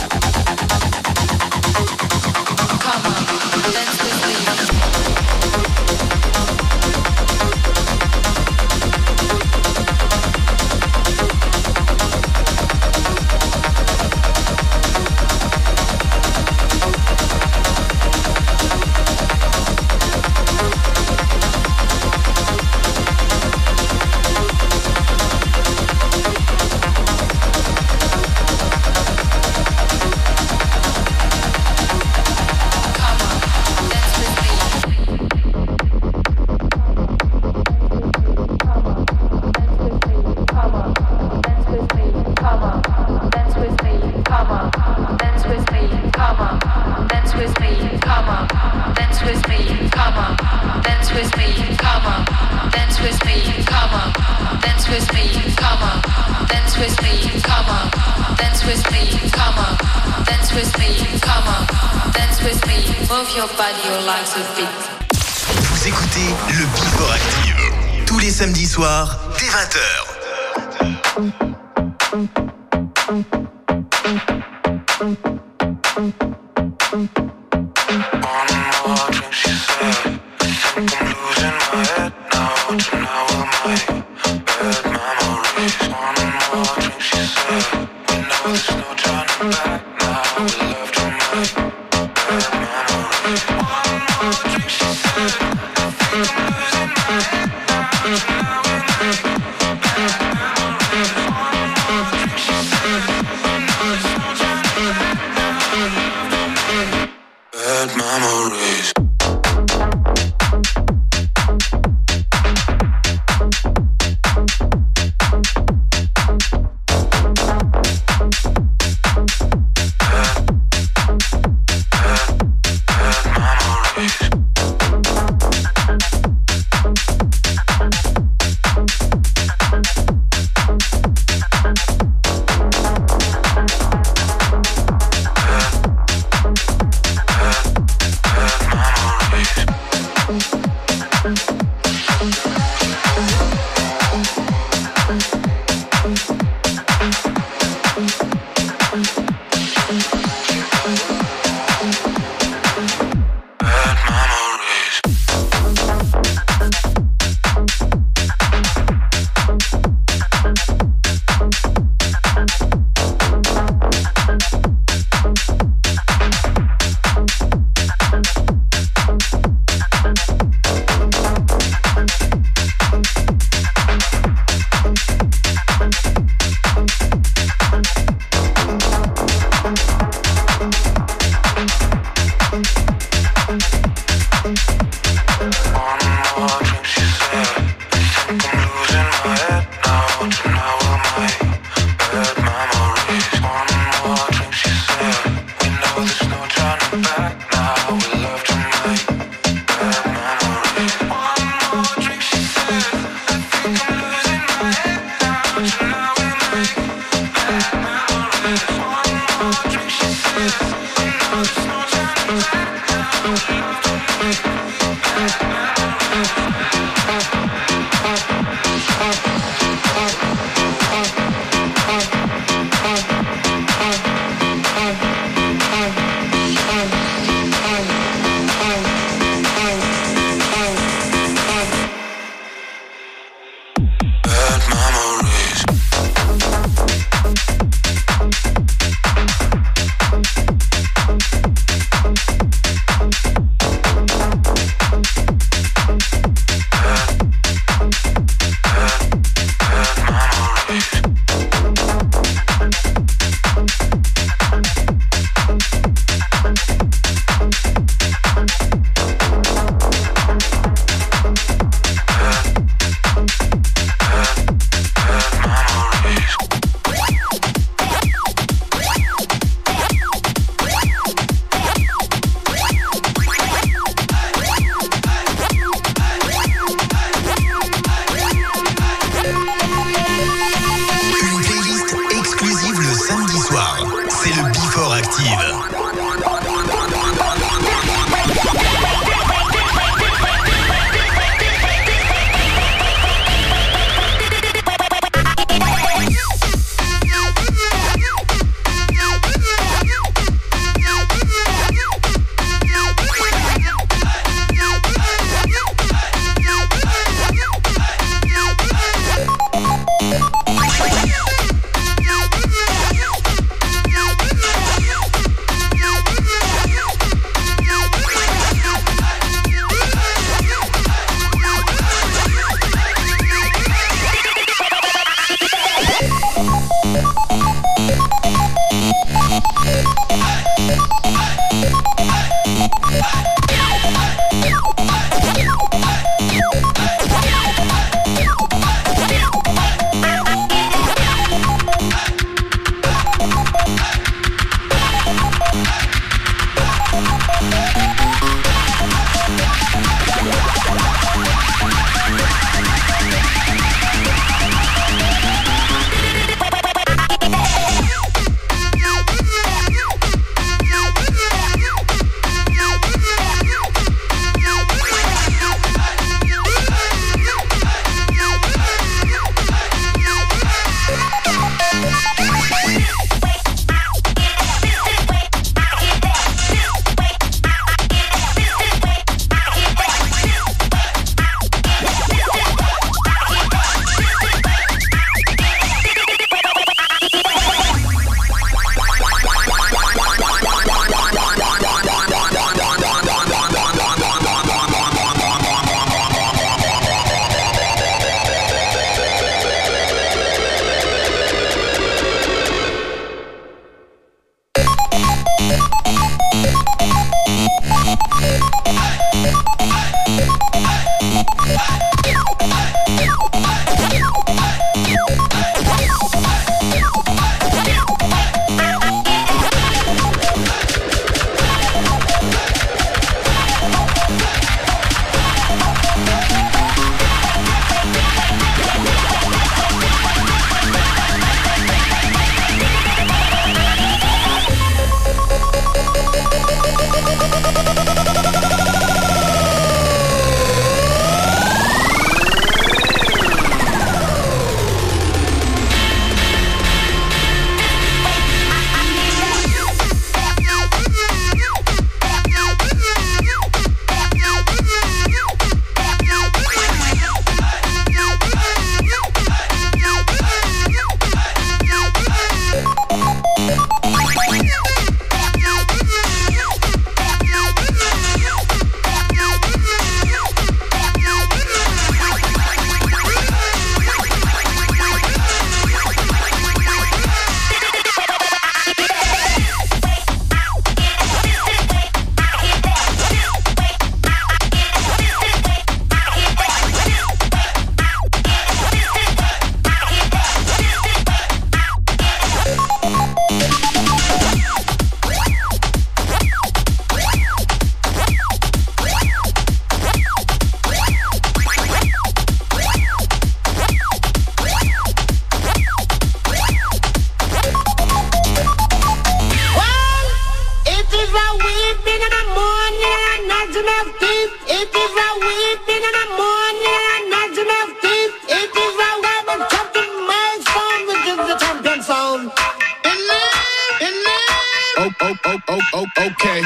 Come on, dance with me. move your body, you like to beat. Vous écoutez le Before Active tous les samedis soirs dès 20h. It is a weeping in the morning and gnashing of teeth. It is a weapon chopping miles from which is the champion sound. Okay.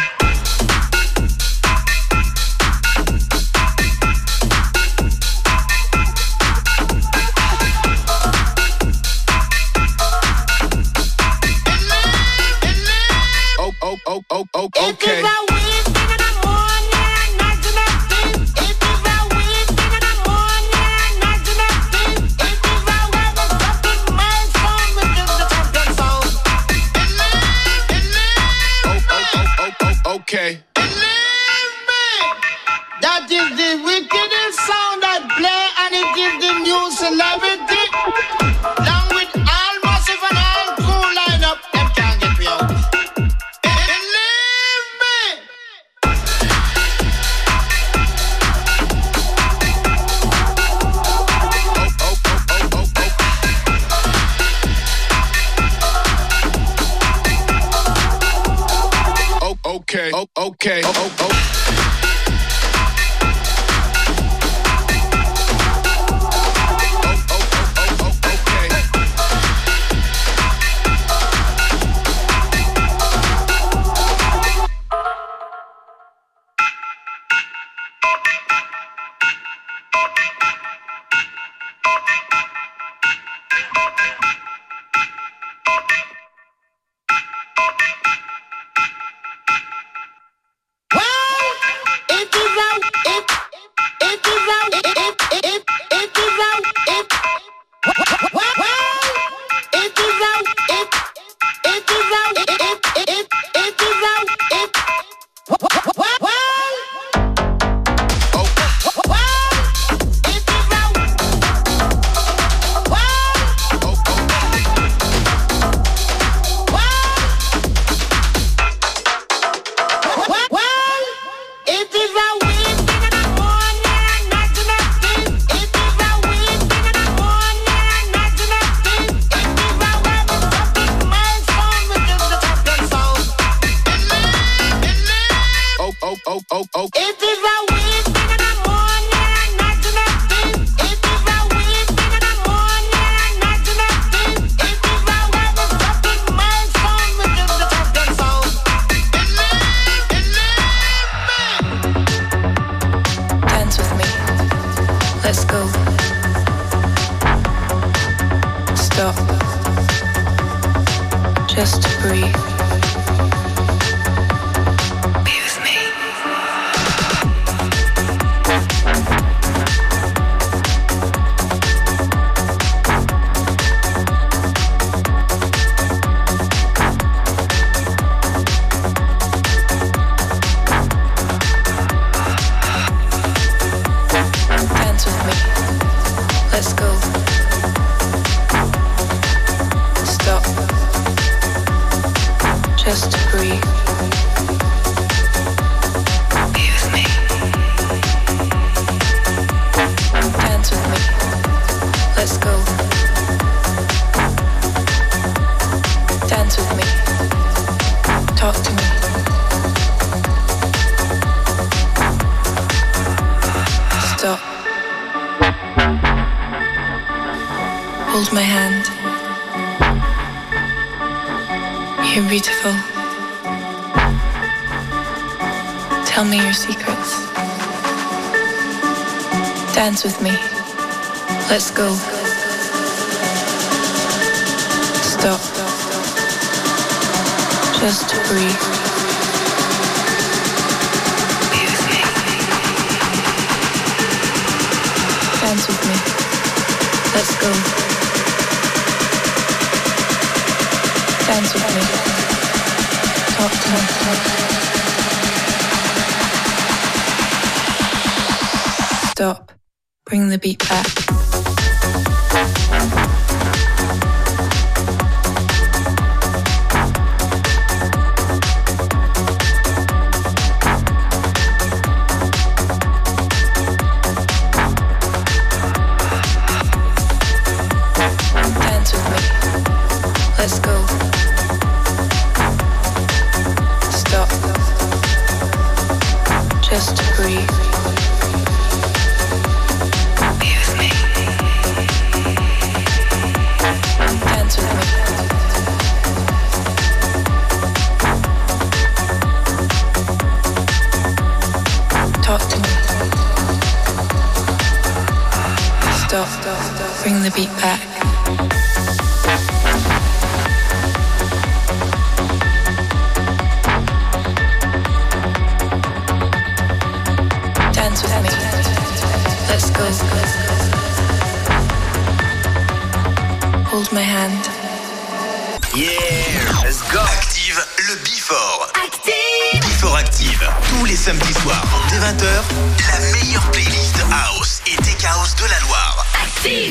Okay. Okay. That is the wickedest sound that play, and it is the new celebrity. Along with all massive and all cool lineup, them can't get me out. Believe me. Okay. Okay. Just to breathe. Be with me. Dance with me. Let's go. Stop. Just to breathe. Be with me. Dance with me. Let's go. Dance with me. Talk to me. Stop. Hold my hand. You're beautiful. Tell me your secrets. Dance with me. Let's go. Stop. Just to breathe. Be with me. Dance with me. Let's go. Dance with me. Talk to me. Stop. Bring the beat back. Dance with me. Let's go. Stop. Just to breathe. bring the beat back. Dance with me. Let's go. Hold my hand. Yeah, let's go. Active le Before. Active. Before Active. Tous les samedis soirs, dès 20h, la meilleure playlist House et Tech House de la Loire. Active.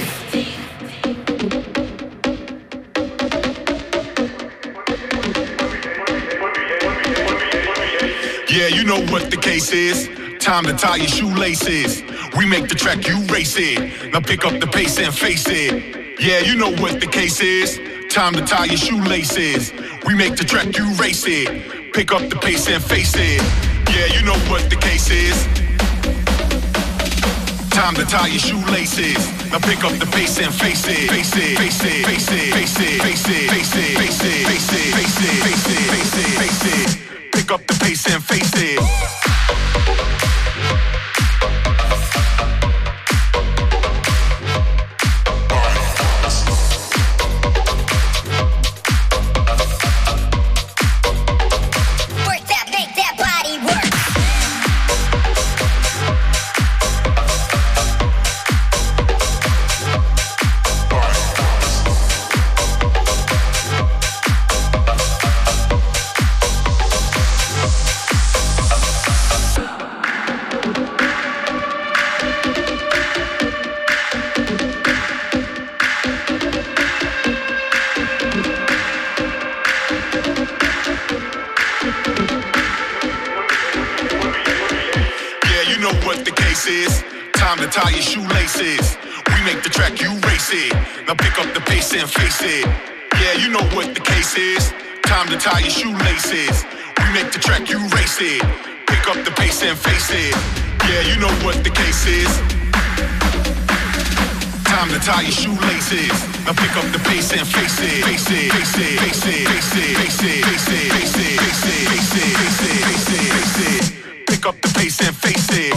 Yeah, you know what the case is. Time to tie your shoelaces. We make the track, you race it. Now pick up the pace and face it. Yeah, you know what the case is. Time to tie your shoelaces. We make the track, you race it. Pick up the pace and face it. Yeah, you know what the case is. Time to tie your shoelaces. Now pick up the pace and face it. Face it, face it, face it, face it, face it, face it, face it, face it, face it, face it, face it, face it. Pick up the pace and face it. Tie your shoelaces. We make the track, you race it. Now pick up the pace and face it. Yeah, you know what the case is. Time to tie your shoelaces. We make the track, you race it. Pick up the pace and face it. Yeah, you know what the case is. Time to tie your shoelaces. Now pick up the pace and face it. Face it, face it, face it, face it, face it, face it, face it, face it, face it, face it, face it, face it. Pick up the pace and face it.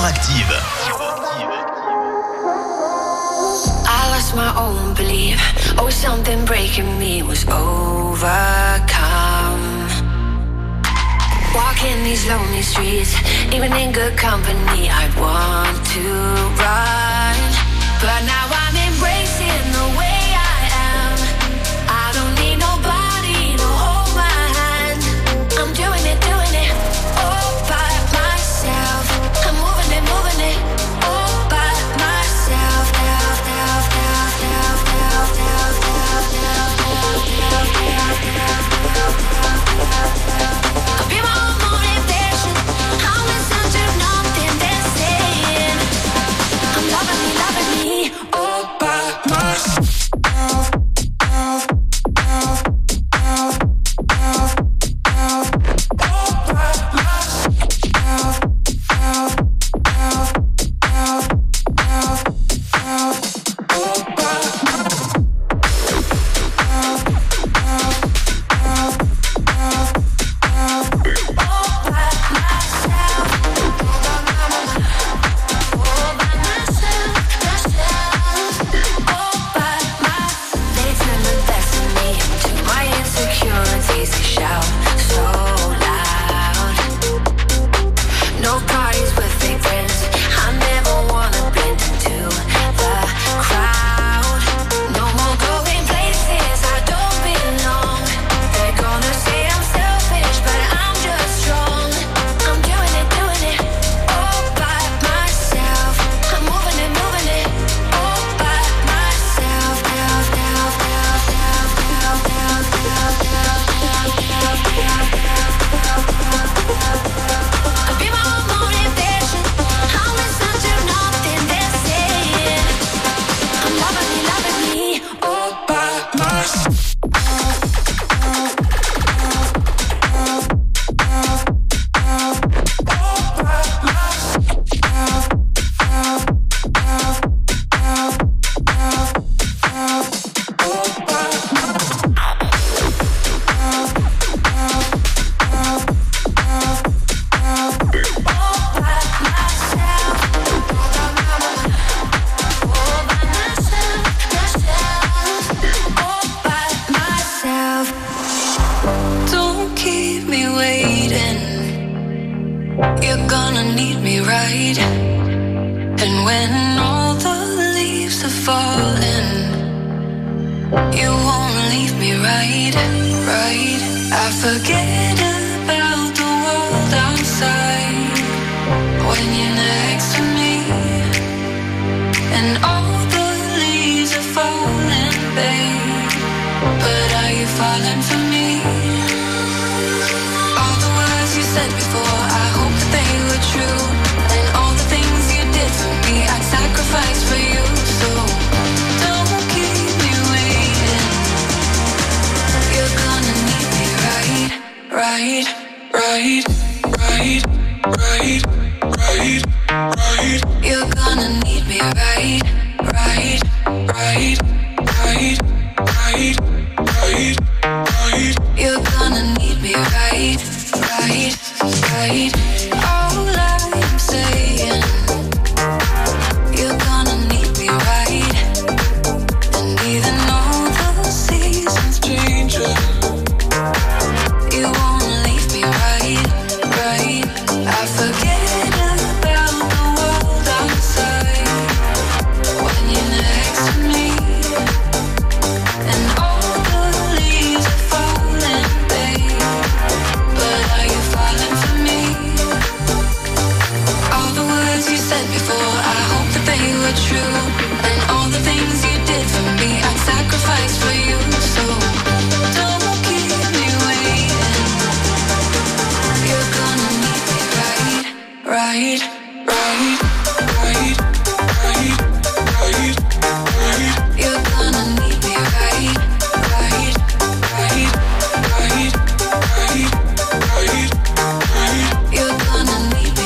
Active. I lost my own belief. Oh, something breaking me was overcome. Walking these lonely streets, even in good company, I'd want to run. But now I'm embracing the way I am. I don't need nobody to hold my hand. I'm doing it all by myself. I'm moving it all by myself. I'll be my own motivation. I'll listen to nothing they're saying. I'm loving me all by myself.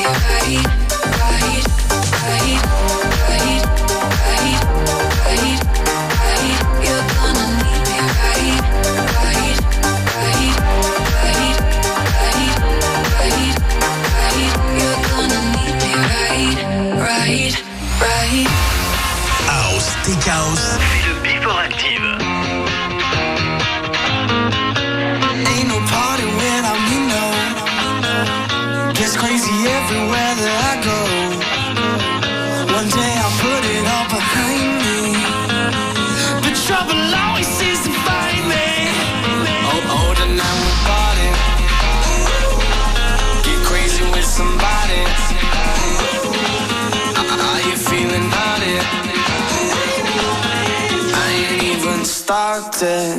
Right. House, Tech House, c'est le Before Active. Ain't no party without me, no. Gets crazy everywhere that I go. One day I'll put it all behind me, but trouble always seems to find me. Oh, tonight we'll party, get crazy with somebody. Are you feeling naughty? I ain't even started.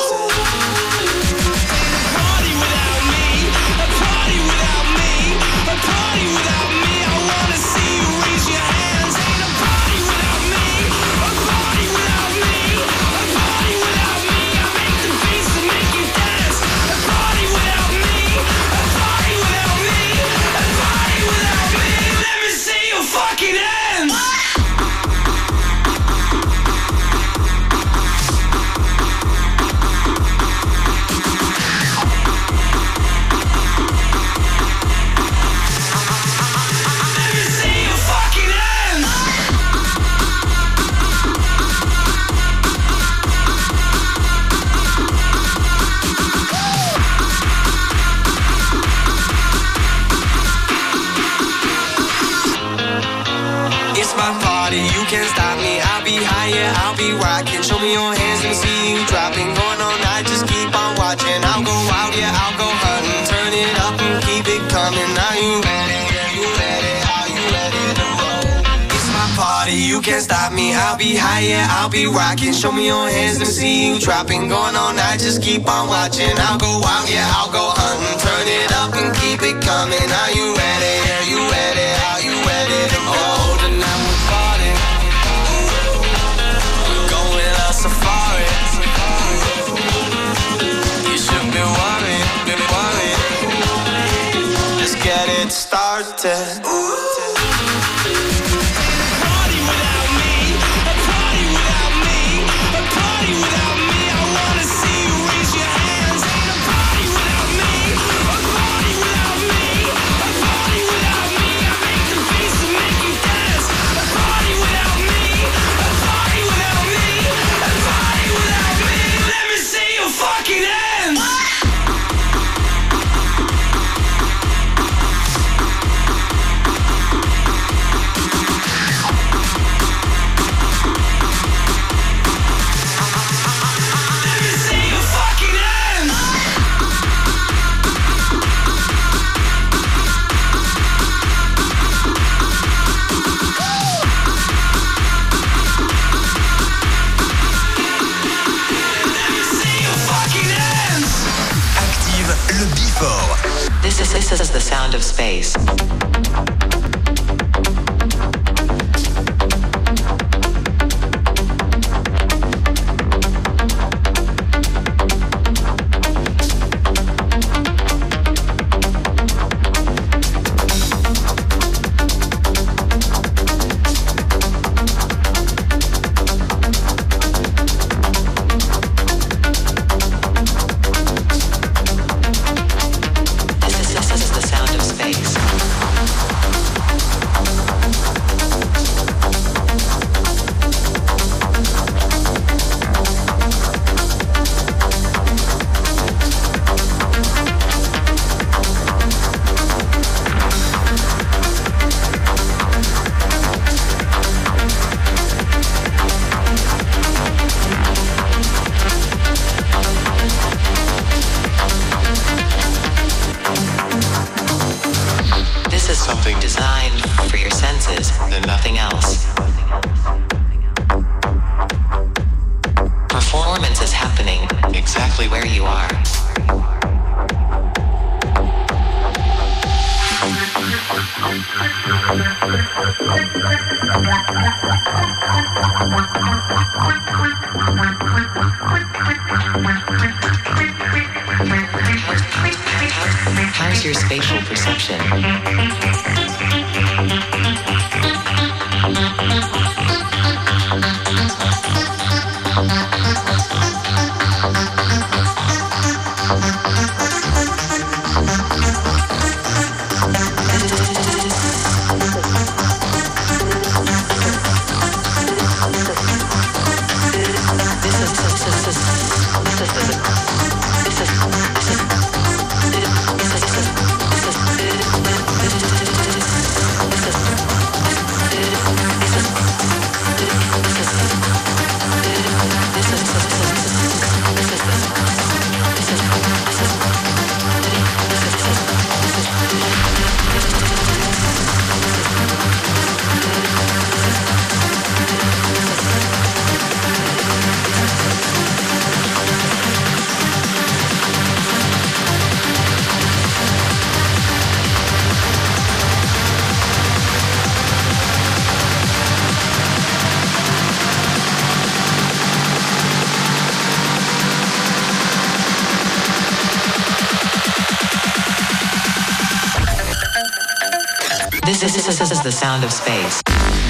You can't stop me, I'll be high, yeah, I'll be rocking. Show me your hands, let me see you dropping. Going all night, just keep on watching. I'll go out, yeah, I'll go hunting. Turn it up and keep it coming. Are you ready? Yeah, you ready? Are you ready to roll? It's my party, you can't stop me. I'll be high, yeah, I'll be rocking. Show me your hands, let me see you dropping. Going all night, just keep on watching. I'll go out, yeah, I'll go hunting. Turn it up and keep it coming. Are you ready? Yeah, you ready? Are you ready to go? Oh, tonight we'll party. Safari. You should be worried, baby, worried. Let's get it started. This is the sound of space. How's your spatial perception? is the sound of space.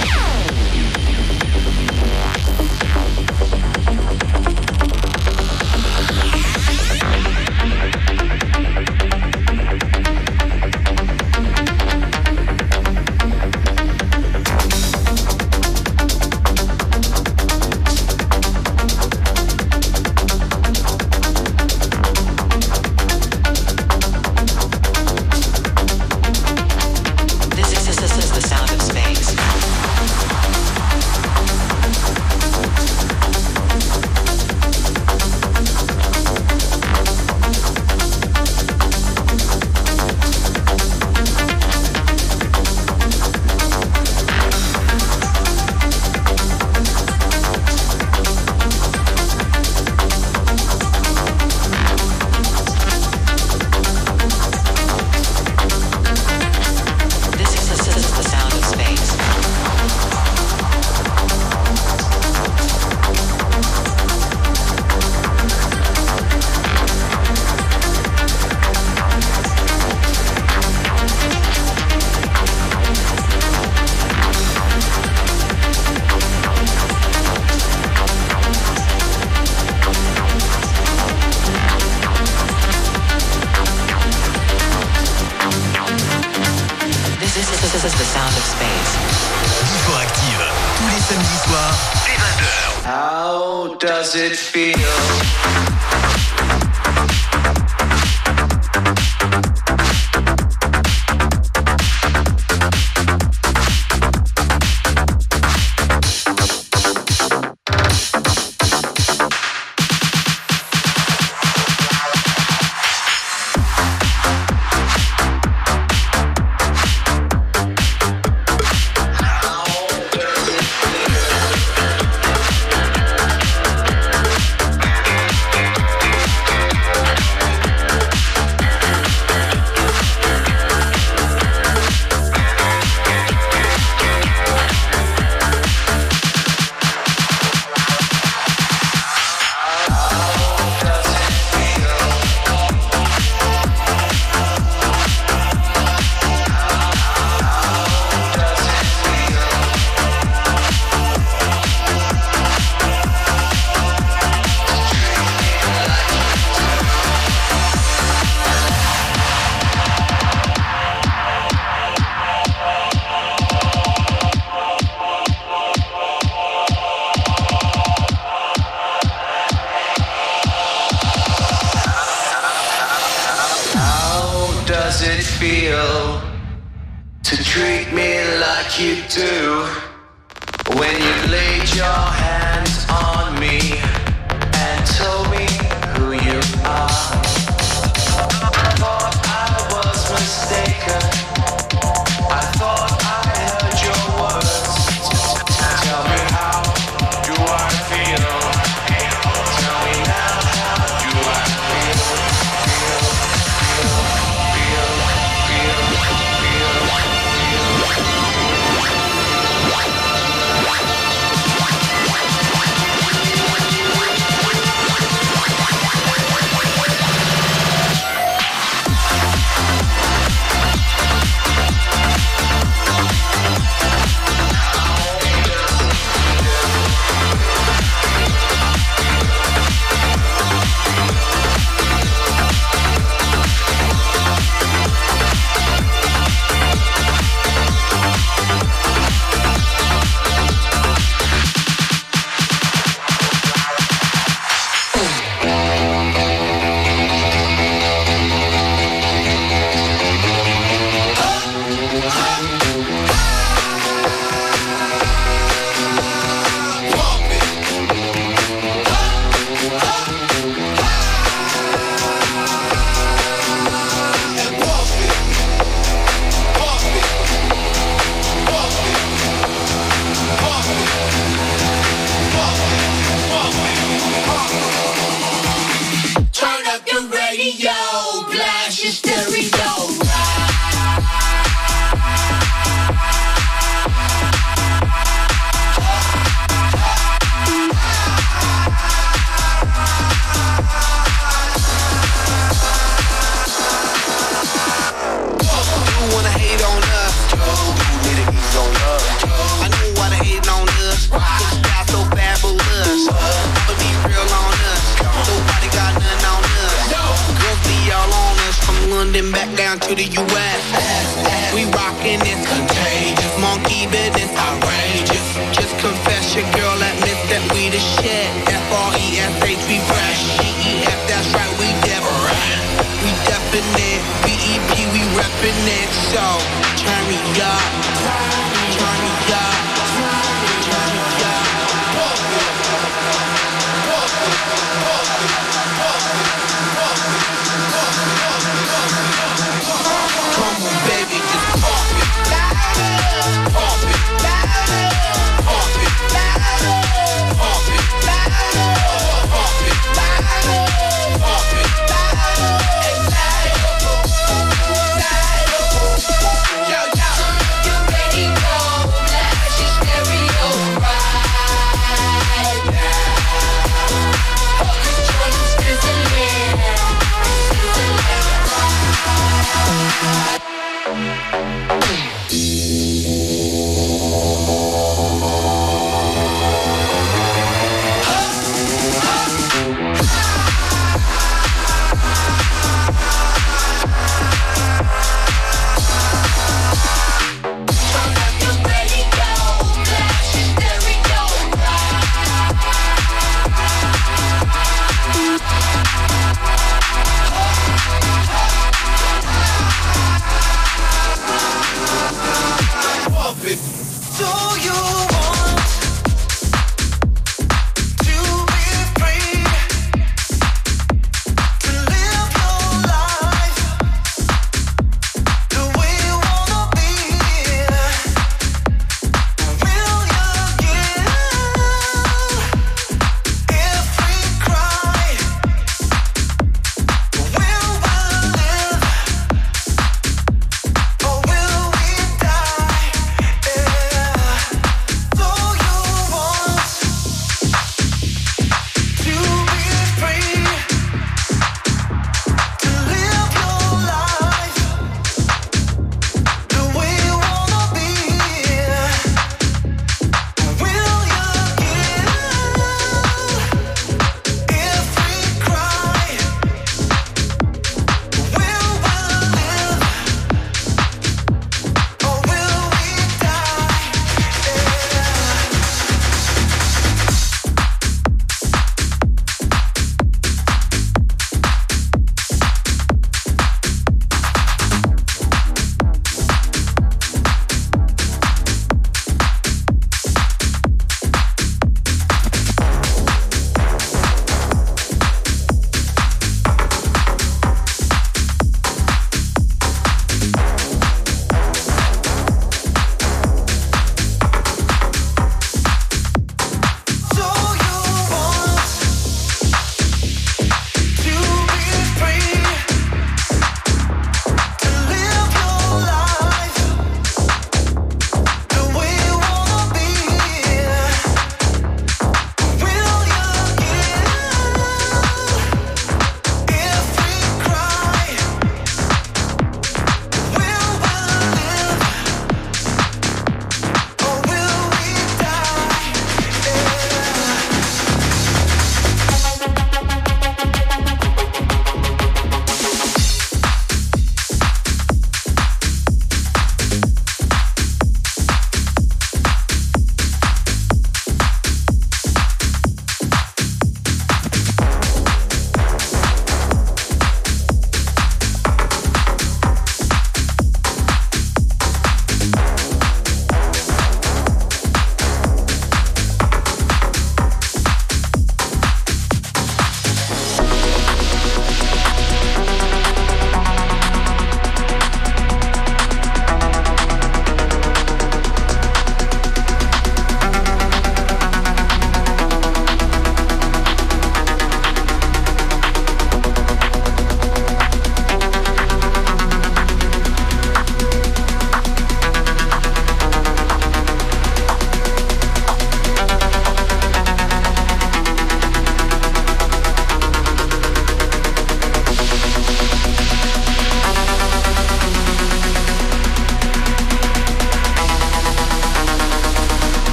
Does it feel? Does it feel to treat me like you do when you laid your hands on me and told me who you are? I thought I was mistaken. I thought I heard your words. Tell me, how do I feel? Tell me now, how do I feel? your girl admits that we the shit. F-R-E-S-H, we fresh. G-E-F, that's right, we different. We definite. B-E-P, we reppin' it. So, turn me up. Turn me up. Turn me up. Come on, baby, just pump it. Pump it. Pump it. Pump it. Pump it. Pump it. Yo, yo.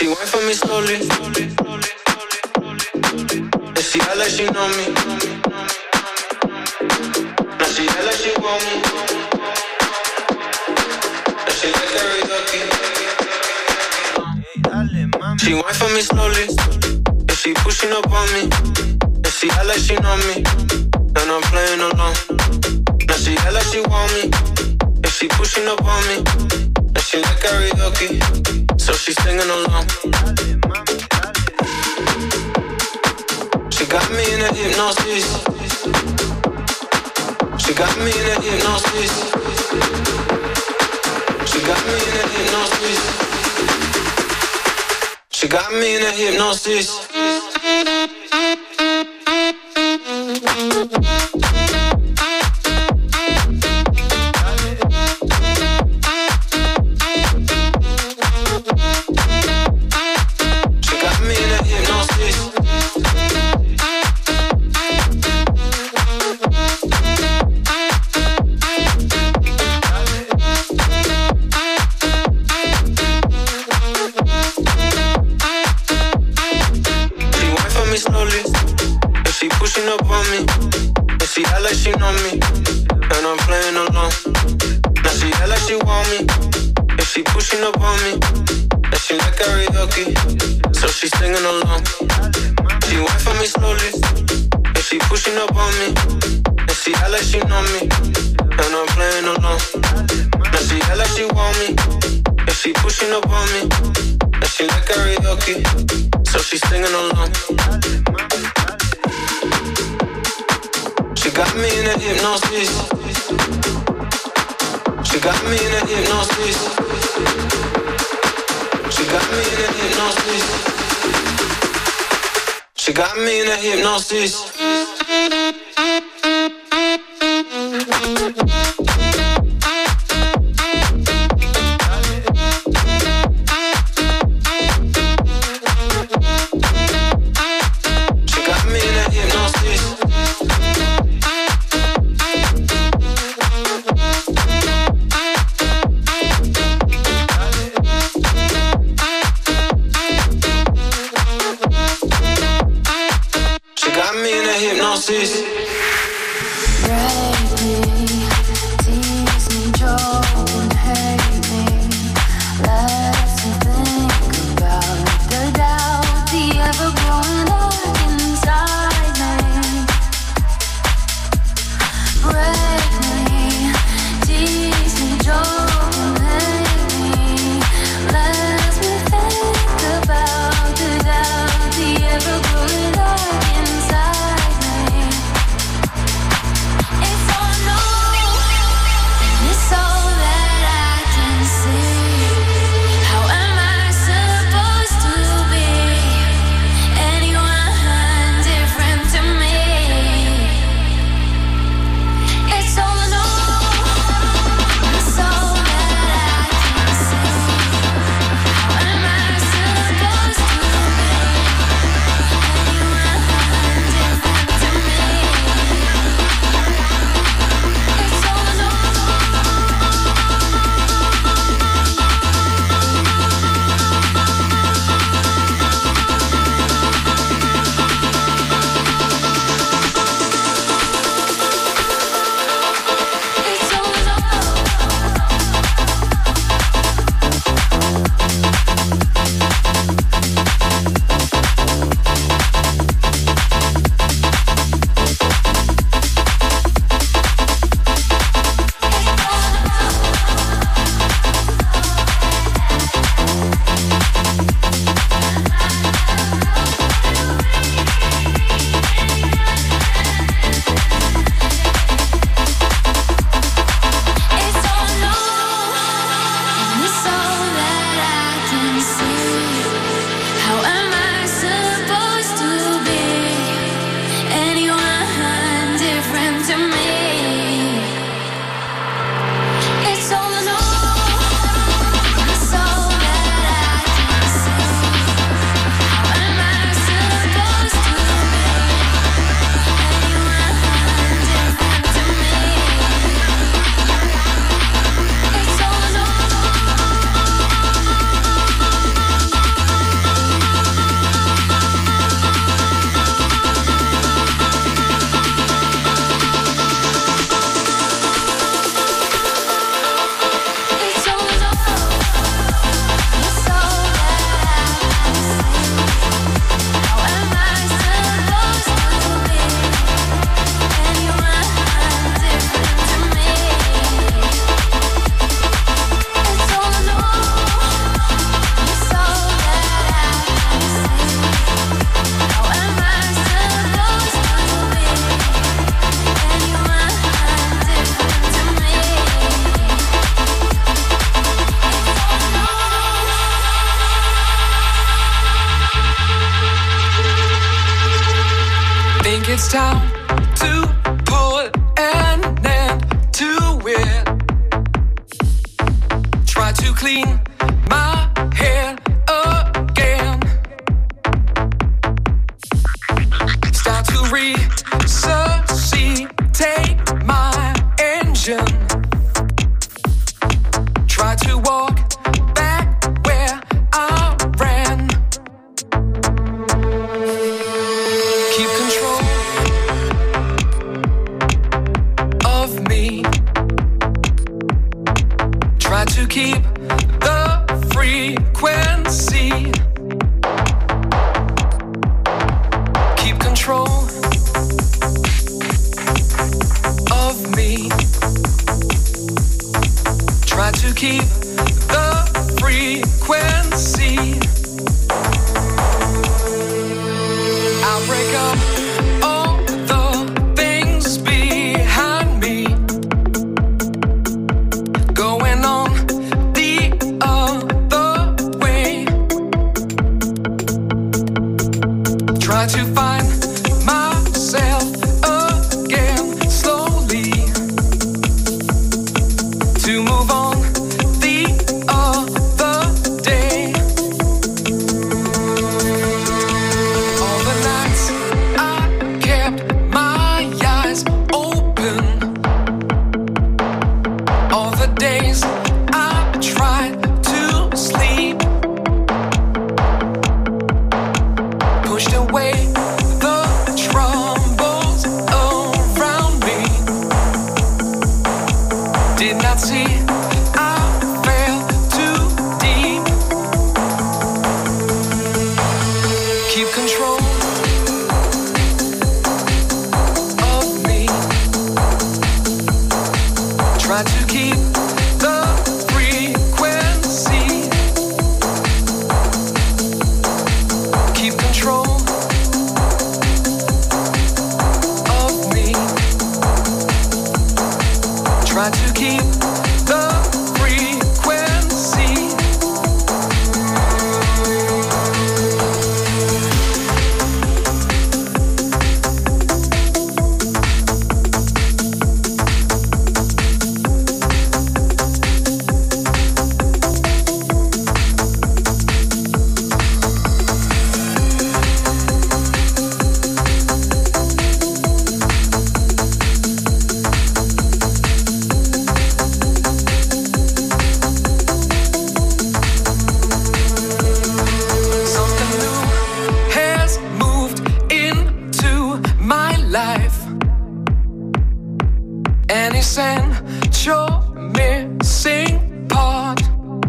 went for me slowly. And she act like she know me. Now she act like she want me. Now she like karaoke. She went for me slowly. And she pushing up on me. And she act like she know me. And I'm playing along. Now she act like she want me. And she pushing up on me. And she like karaoke. So she singing along. She got me in a hypnosis. She got me in a hypnosis. She got me in a hypnosis. She got me in a hypnosis. Hypnosis. It's time to put an end to it. Try to clean my head again. Start to resuscitate my engine. Try to walk back where I ran. Keep control of me. Try to keep the frequency. Keep control of me. Try to keep the frequency. I'll break up all the things behind me. Going on the other way. Try to find myself again slowly. To move on the other day. All the nights I kept my eyes open. All the days I tried to sleep. Pushed away the troubles around me. Did not see I fell too deep. Keep control of me. Try to keep the frequency. Keep control of me. Try to keep the frequency. Something new has moved into my life. An essential missing part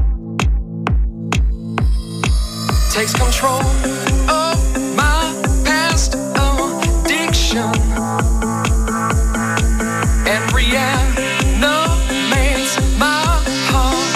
takes control of my past addiction and reanimates my heart.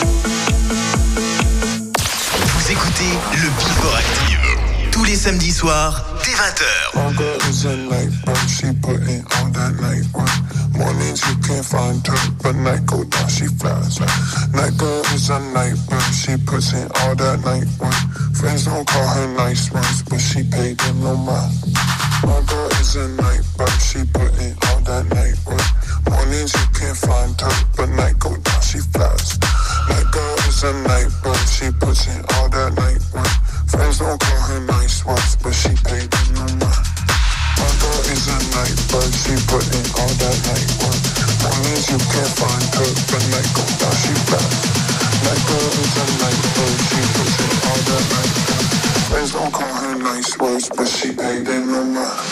Vous écoutez le Before Active. Tous les samedis soirs, dès 20h. My girl is a night bird, she put in all that night work. Mornings you can't find her, but night go down, she flies. Night girl is a night bird, she puts in all that night work. Friends don't call her nice ones, but she paid them no mind. My girl is a night bird, she put in all that night work. Mornings you can't find her, but night go down, she flies. Night girl is a night bird, she puts in all that night work. Friends don't call her nice ones, but she paid them no mind. My girl is a night bird, she put in all that night work. Mornings you can't find her, but night go down, she flies. Night girl is a night bird, she puts in all that night work. Friends don't call her nice words, but she paid them no mind.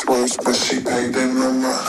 words, but she paid in my mind.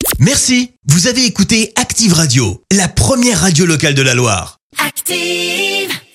Merci, vous avez écouté Active Radio, la première radio locale de la Loire. Active.